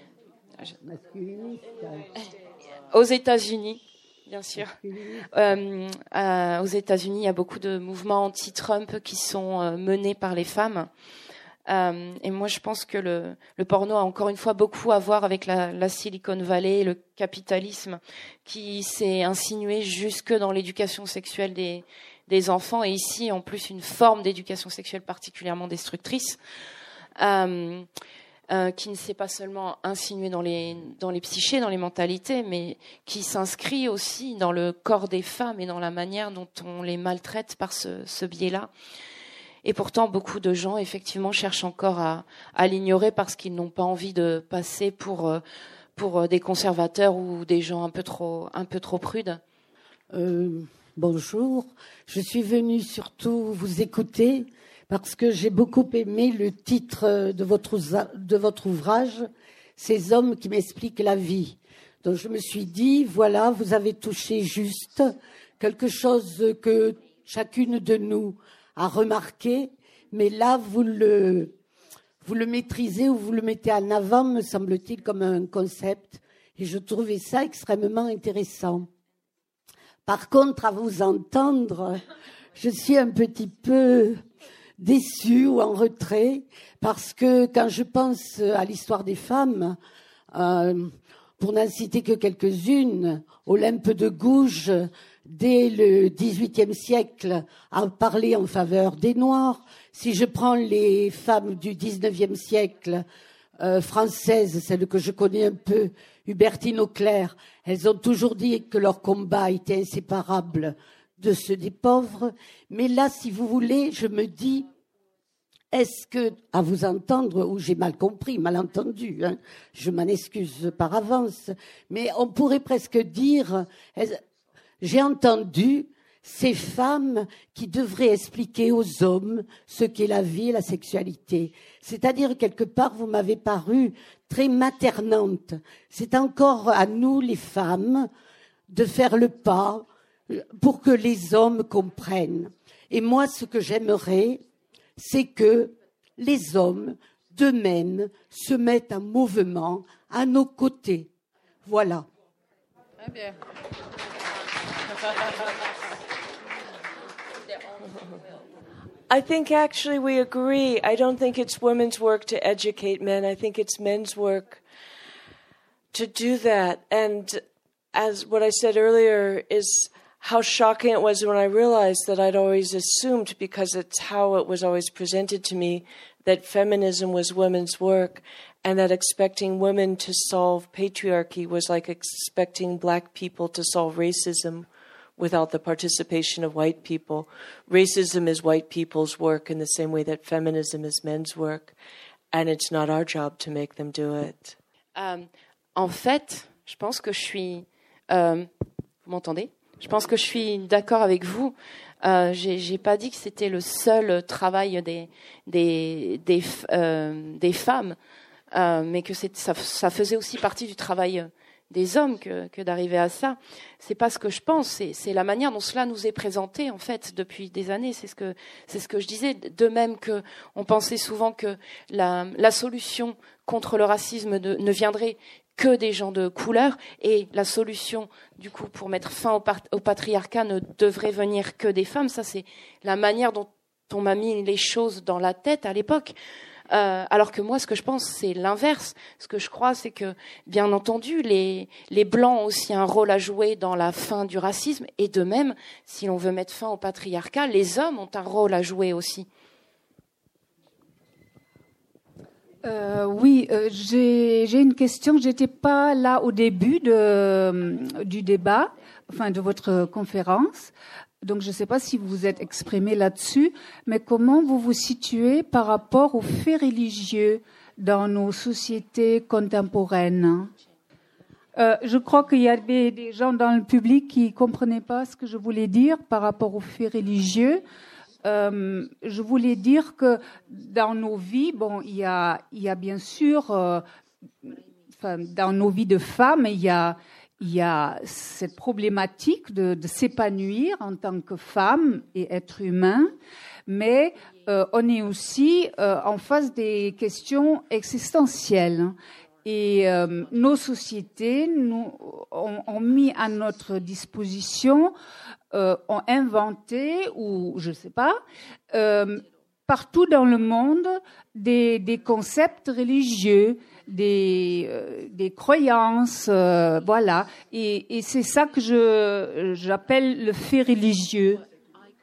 bien sûr. Aux États-Unis, il y a beaucoup de mouvements anti-Trump qui sont menés par les femmes. Et moi, je pense que le porno a encore une fois beaucoup à voir avec la Silicon Valley, le capitalisme qui s'est insinué jusque dans l'éducation sexuelle des enfants, et ici, en plus, une forme d'éducation sexuelle particulièrement destructrice. qui ne s'est pas seulement insinué dans les psychés, dans les mentalités, mais qui s'inscrit aussi dans le corps des femmes et dans la manière dont on les maltraite par ce biais-là. Et pourtant, beaucoup de gens, effectivement, cherchent encore à l'ignorer parce qu'ils n'ont pas envie de passer pour des conservateurs ou des gens un peu trop prudes. Bonjour, je suis venue surtout vous écouter parce que j'ai beaucoup aimé le titre de votre ouvrage, « Ces hommes qui m'expliquent la vie ». Donc je me suis dit, voilà, vous avez touché juste quelque chose que chacune de nous a remarqué, mais là, vous le maîtrisez ou vous le mettez en avant, me semble-t-il, comme un concept. Et je trouvais ça extrêmement intéressant. Par contre, à vous entendre, je suis un petit peu déçue ou en retrait, parce que quand je pense à l'histoire des femmes, pour n'en citer que quelques-unes, Olympe de Gouges, dès le XVIIIe siècle, a parlé en faveur des Noirs. Si je prends les femmes du XIXe siècle françaises, celles que je connais un peu, Hubertine Auclair, elles ont toujours dit que leur combat était inséparable de ceux des pauvres. Mais là, si vous voulez, je me dis, est-ce que, à vous entendre, ou j'ai mal compris, mal entendu, hein, je m'en excuse par avance, mais on pourrait presque dire, j'ai entendu ces femmes qui devraient expliquer aux hommes ce qu'est la vie et la sexualité. C'est-à-dire, quelque part, vous m'avez paru très maternante. C'est encore à nous, les femmes, de faire le pas pour que les hommes comprennent. Et moi, ce que j'aimerais, c'est que les hommes, d'eux-mêmes, se mettent en mouvement à nos côtés. Voilà. Très bien. I think actually we agree. I don't think it's women's work to educate men. I think it's men's work to do that. And as what I said earlier is how shocking it was when I realized that I'd always assumed, because it's how it was always presented to me, that feminism was women's work, and that expecting women to solve patriarchy was like expecting black people to solve racism without the participation of white people. Racism is white people's work in the same way that feminism is men's work, and it's not our job to make them do it. En fait, je pense que je suis... vous m'entendez ? Je pense que je suis d'accord avec vous. J'ai pas dit que c'était le seul travail des femmes, mais que ça faisait aussi partie du travail des hommes que d'arriver à ça. C'est pas ce que je pense, c'est la manière dont cela nous est présenté en fait depuis des années. C'est ce que je disais. De même que on pensait souvent que la solution contre le racisme ne viendrait que des gens de couleur, et la solution du coup pour mettre fin au patriarcat ne devrait venir que des femmes. Ça, c'est la manière dont on m'a mis les choses dans la tête à l'époque. Alors que moi, ce que je pense, c'est l'inverse. Ce que je crois, c'est que, bien entendu, les Blancs ont aussi un rôle à jouer dans la fin du racisme, et de même, si l'on veut mettre fin au patriarcat, les hommes ont un rôle à jouer aussi. Oui, j'ai une question. J'étais pas là au début du débat, enfin de votre conférence. Donc, je ne sais pas si vous vous êtes exprimé là-dessus, mais comment vous vous situez par rapport aux faits religieux dans nos sociétés contemporaines ? Je crois qu'il y avait des gens dans le public qui ne comprenaient pas ce que je voulais dire par rapport aux faits religieux. Je voulais dire que dans nos vies, bon, il y a bien sûr, dans nos vies de femmes, il y a cette problématique de s'épanouir en tant que femme et être humain, mais on est aussi en face des questions existentielles. Et nos sociétés ont mis à notre disposition, ont inventé, ou je ne sais pas, partout dans le monde, des concepts religieux, des croyances, voilà. Et c'est ça que j'appelle le fait religieux.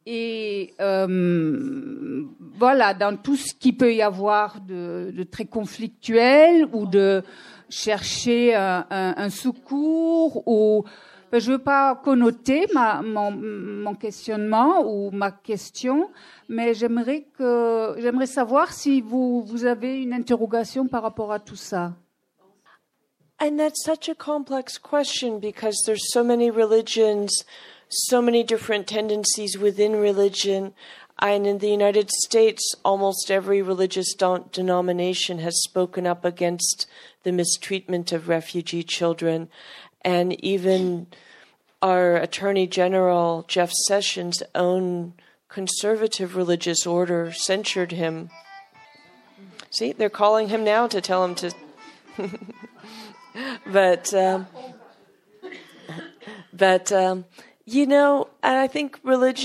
Et voilà, dans tout ce qui peut y avoir de très conflictuel ou de chercher un secours ou je ne veux pas connoter mon questionnement ou ma question, mais j'aimerais savoir si vous avez une interrogation par rapport à tout ça. And that's such a complex question because there's so many religions, so many different tendencies within religion. And in the United States, almost every religious denomination has spoken up against the mistreatment of refugee children. And even our Attorney General, Jeff Sessions' own conservative religious order censured him. See, they're calling him now to tell him to... But you know, I think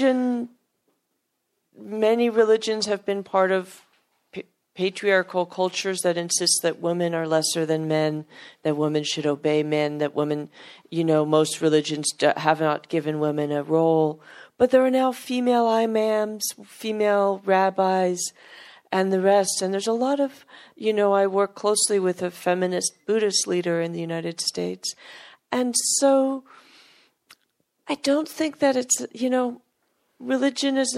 many religions have been part of patriarchal cultures that insist that women are lesser than men, that women should obey men, that women, you know, most religions have not given women a role. But there are now female imams, female rabbis, and the rest. And there's a lot of, you know, I work closely with a feminist Buddhist leader in the United States. And so I don't think that it's, you know, religion is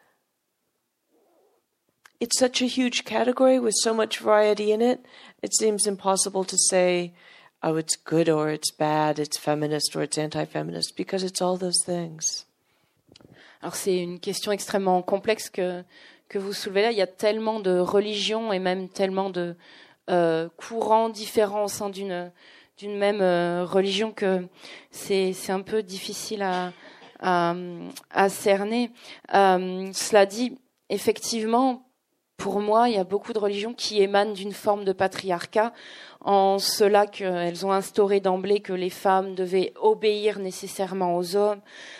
it's such a huge category with so much variety in it. It seems impossible to say, oh, it's good or it's bad, it's feminist or it's anti-feminist, because it's all those things. Alors c'est une question extrêmement complexe que vous soulevez là. Il y a tellement de religions et même tellement de courants différents au sein d'une même religion que c'est un peu difficile à cerner. Cela dit, effectivement, pour moi, il y a beaucoup de religions qui émanent d'une forme de patriarcat, en cela qu'elles ont instauré d'emblée que les femmes devaient obéir nécessairement aux hommes,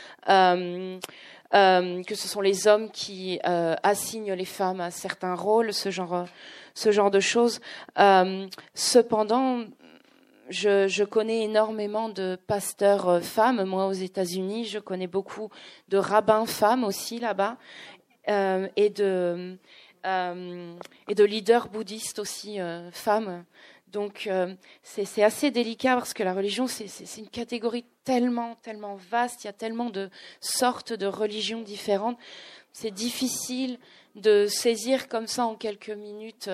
que ce sont les hommes qui assignent les femmes à certains rôles, ce genre de choses. Cependant, je connais énormément de pasteurs femmes, moi aux États-Unis, je connais beaucoup de rabbins femmes aussi là-bas, et de leaders bouddhistes aussi femmes. Donc c'est assez délicat parce que la religion c'est une catégorie tellement vaste, il y a tellement de sortes de religions différentes. C'est difficile de saisir comme ça en quelques minutes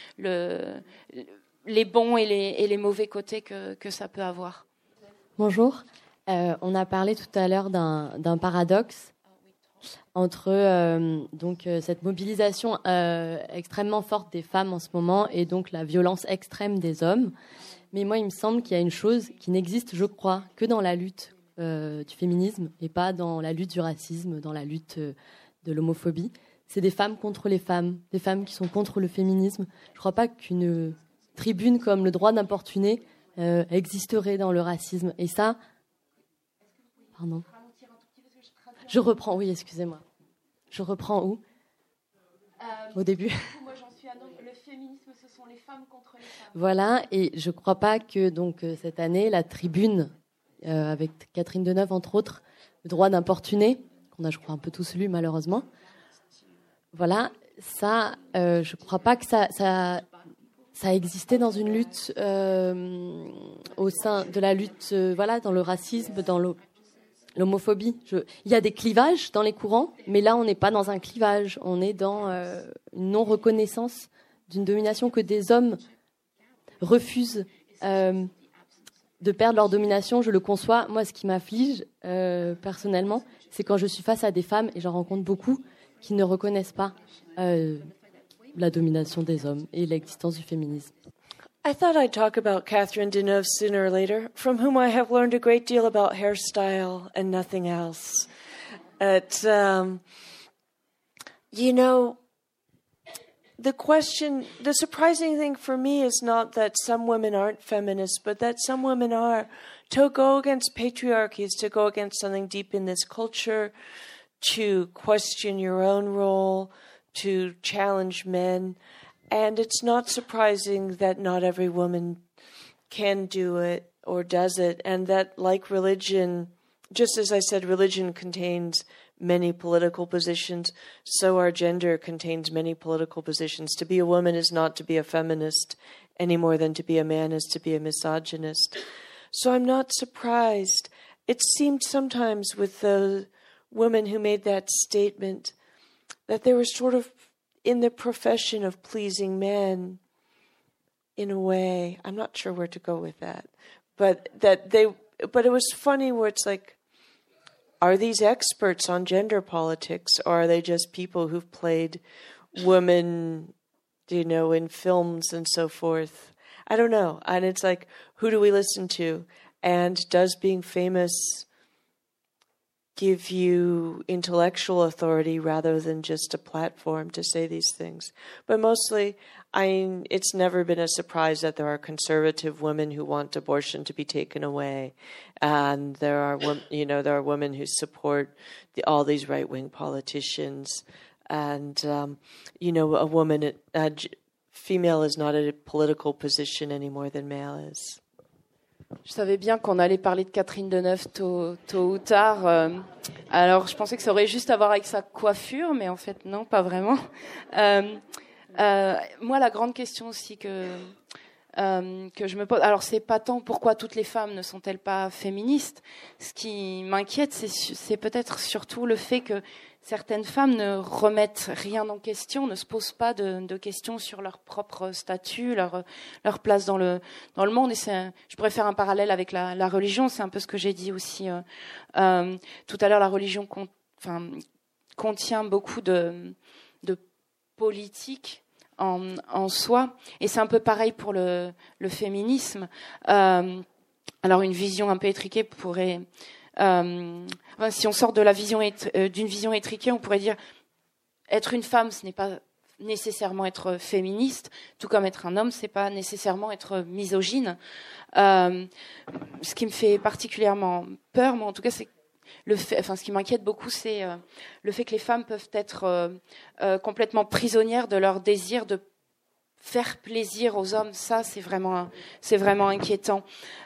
les bons et les mauvais côtés que ça peut avoir. Bonjour. On a parlé tout à l'heure d'un paradoxe entre cette mobilisation extrêmement forte des femmes en ce moment et donc la violence extrême des hommes. Mais moi, il me semble qu'il y a une chose qui n'existe, je crois, que dans la lutte du féminisme et pas dans la lutte du racisme, dans la lutte de l'homophobie. C'est des femmes contre les femmes, des femmes qui sont contre le féminisme. Je ne crois pas qu'une tribune comme le droit d'importuner existerait dans le racisme. Et ça... Pardon. Je reprends, oui, excusez-moi. Je reprends où au début. Moi, j'en suis à le féminisme, ce sont les femmes contre les femmes. Voilà, et je ne crois pas que cette année, la tribune, avec Catherine Deneuve, entre autres, le droit d'importuner, qu'on a, je crois, un peu tous lu, malheureusement. Voilà, ça, je ne crois pas que ça existait dans une lutte au sein de la lutte, dans le racisme, dans l'homophobie. Il y a des clivages dans les courants, mais là, on n'est pas dans un clivage. On est dans une non-reconnaissance d'une domination que des hommes refusent de perdre leur domination. Je le conçois. Moi, ce qui m'afflige, personnellement, c'est quand je suis face à des femmes, et j'en rencontre beaucoup, qui ne reconnaissent pas la domination des hommes et l'existence du féminisme. I thought I'd talk about Catherine Deneuve sooner or later, from whom I have learned a great deal about hairstyle and nothing else. You know, the surprising thing for me is not that some women aren't feminists, but that some women are. To go against patriarchy is to go against something deep in this culture, to question your own role, to challenge men. And it's not surprising that not every woman can do it or does it, and that, like religion, just as I said, religion contains many political positions, so our gender contains many political positions. To be a woman is not to be a feminist any more than to be a man is to be a misogynist. So I'm not surprised. It seemed sometimes with the women who made that statement that they were sort of in the profession of pleasing men in a way. I'm not sure where to go with that. But it was funny where it's like, are these experts on gender politics, or are they just people who've played women, in films and so forth? I don't know. And it's like, who do we listen to? And does being famous give you intellectual authority rather than just a platform to say these things? But mostly, it's never been a surprise that there are conservative women who want abortion to be taken away, and there are women who support all these right-wing politicians, and female is not a political position any more than male is. Je savais bien qu'on allait parler de Catherine Deneuve tôt ou tard. Alors, je pensais que ça aurait juste à voir avec sa coiffure, mais en fait, non, pas vraiment. Moi, la grande question aussi que je me pose, alors c'est pas tant pourquoi toutes les femmes ne sont-elles pas féministes. Ce qui m'inquiète, c'est peut-être surtout le fait que certaines femmes ne remettent rien en question, ne se posent pas de questions sur leur propre statut, leur place dans le monde. Et je pourrais faire un parallèle avec la religion. C'est un peu ce que j'ai dit aussi tout à l'heure. La religion contient beaucoup de politique en soi, et c'est un peu pareil pour le féminisme. Alors une vision un peu étriquée pourrait, si on sort de d'une vision étriquée, on pourrait dire être une femme, ce n'est pas nécessairement être féministe, tout comme être un homme, c'est pas nécessairement être misogyne. Ce qui me fait particulièrement peur, moi en tout cas, c'est ce qui m'inquiète beaucoup, c'est le fait que les femmes peuvent être complètement prisonnières de leur désir de faire plaisir aux hommes. Ça, c'est vraiment inquiétant.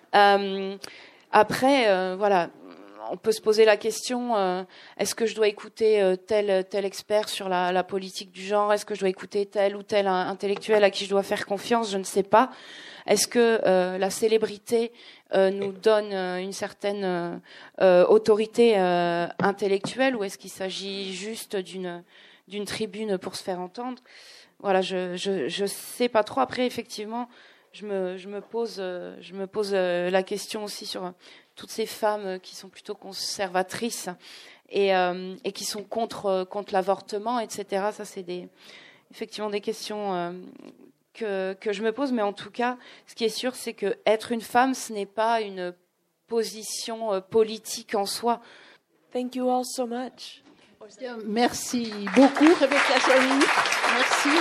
Après, voilà, on peut se poser la question, est-ce que je dois écouter tel expert sur la politique du genre? Est-ce que je dois écouter tel ou tel intellectuel à qui je dois faire confiance? Je ne sais pas. Est-ce que la célébrité nous donne une certaine autorité intellectuelle, ou est-ce qu'il s'agit juste d'une tribune pour se faire entendre? Voilà, je sais pas trop. Après, effectivement, je me pose la question aussi sur toutes ces femmes qui sont plutôt conservatrices et qui sont contre l'avortement, etc. Ça, c'est effectivement des questions que je me pose, mais en tout cas, ce qui est sûr, c'est que être une femme, ce n'est pas une position politique en soi. Thank you all so much. Merci beaucoup, Rebecca Solnit. Merci.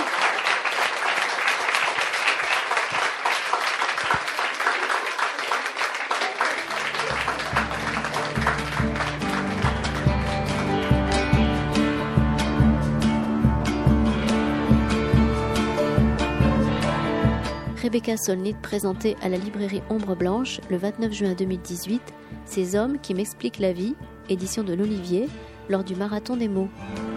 Rebecca Solnit présentait à la librairie Ombre Blanche le 29 juin 2018 « Ces hommes qui m'expliquent la vie », édition de l'Olivier, lors du Marathon des mots.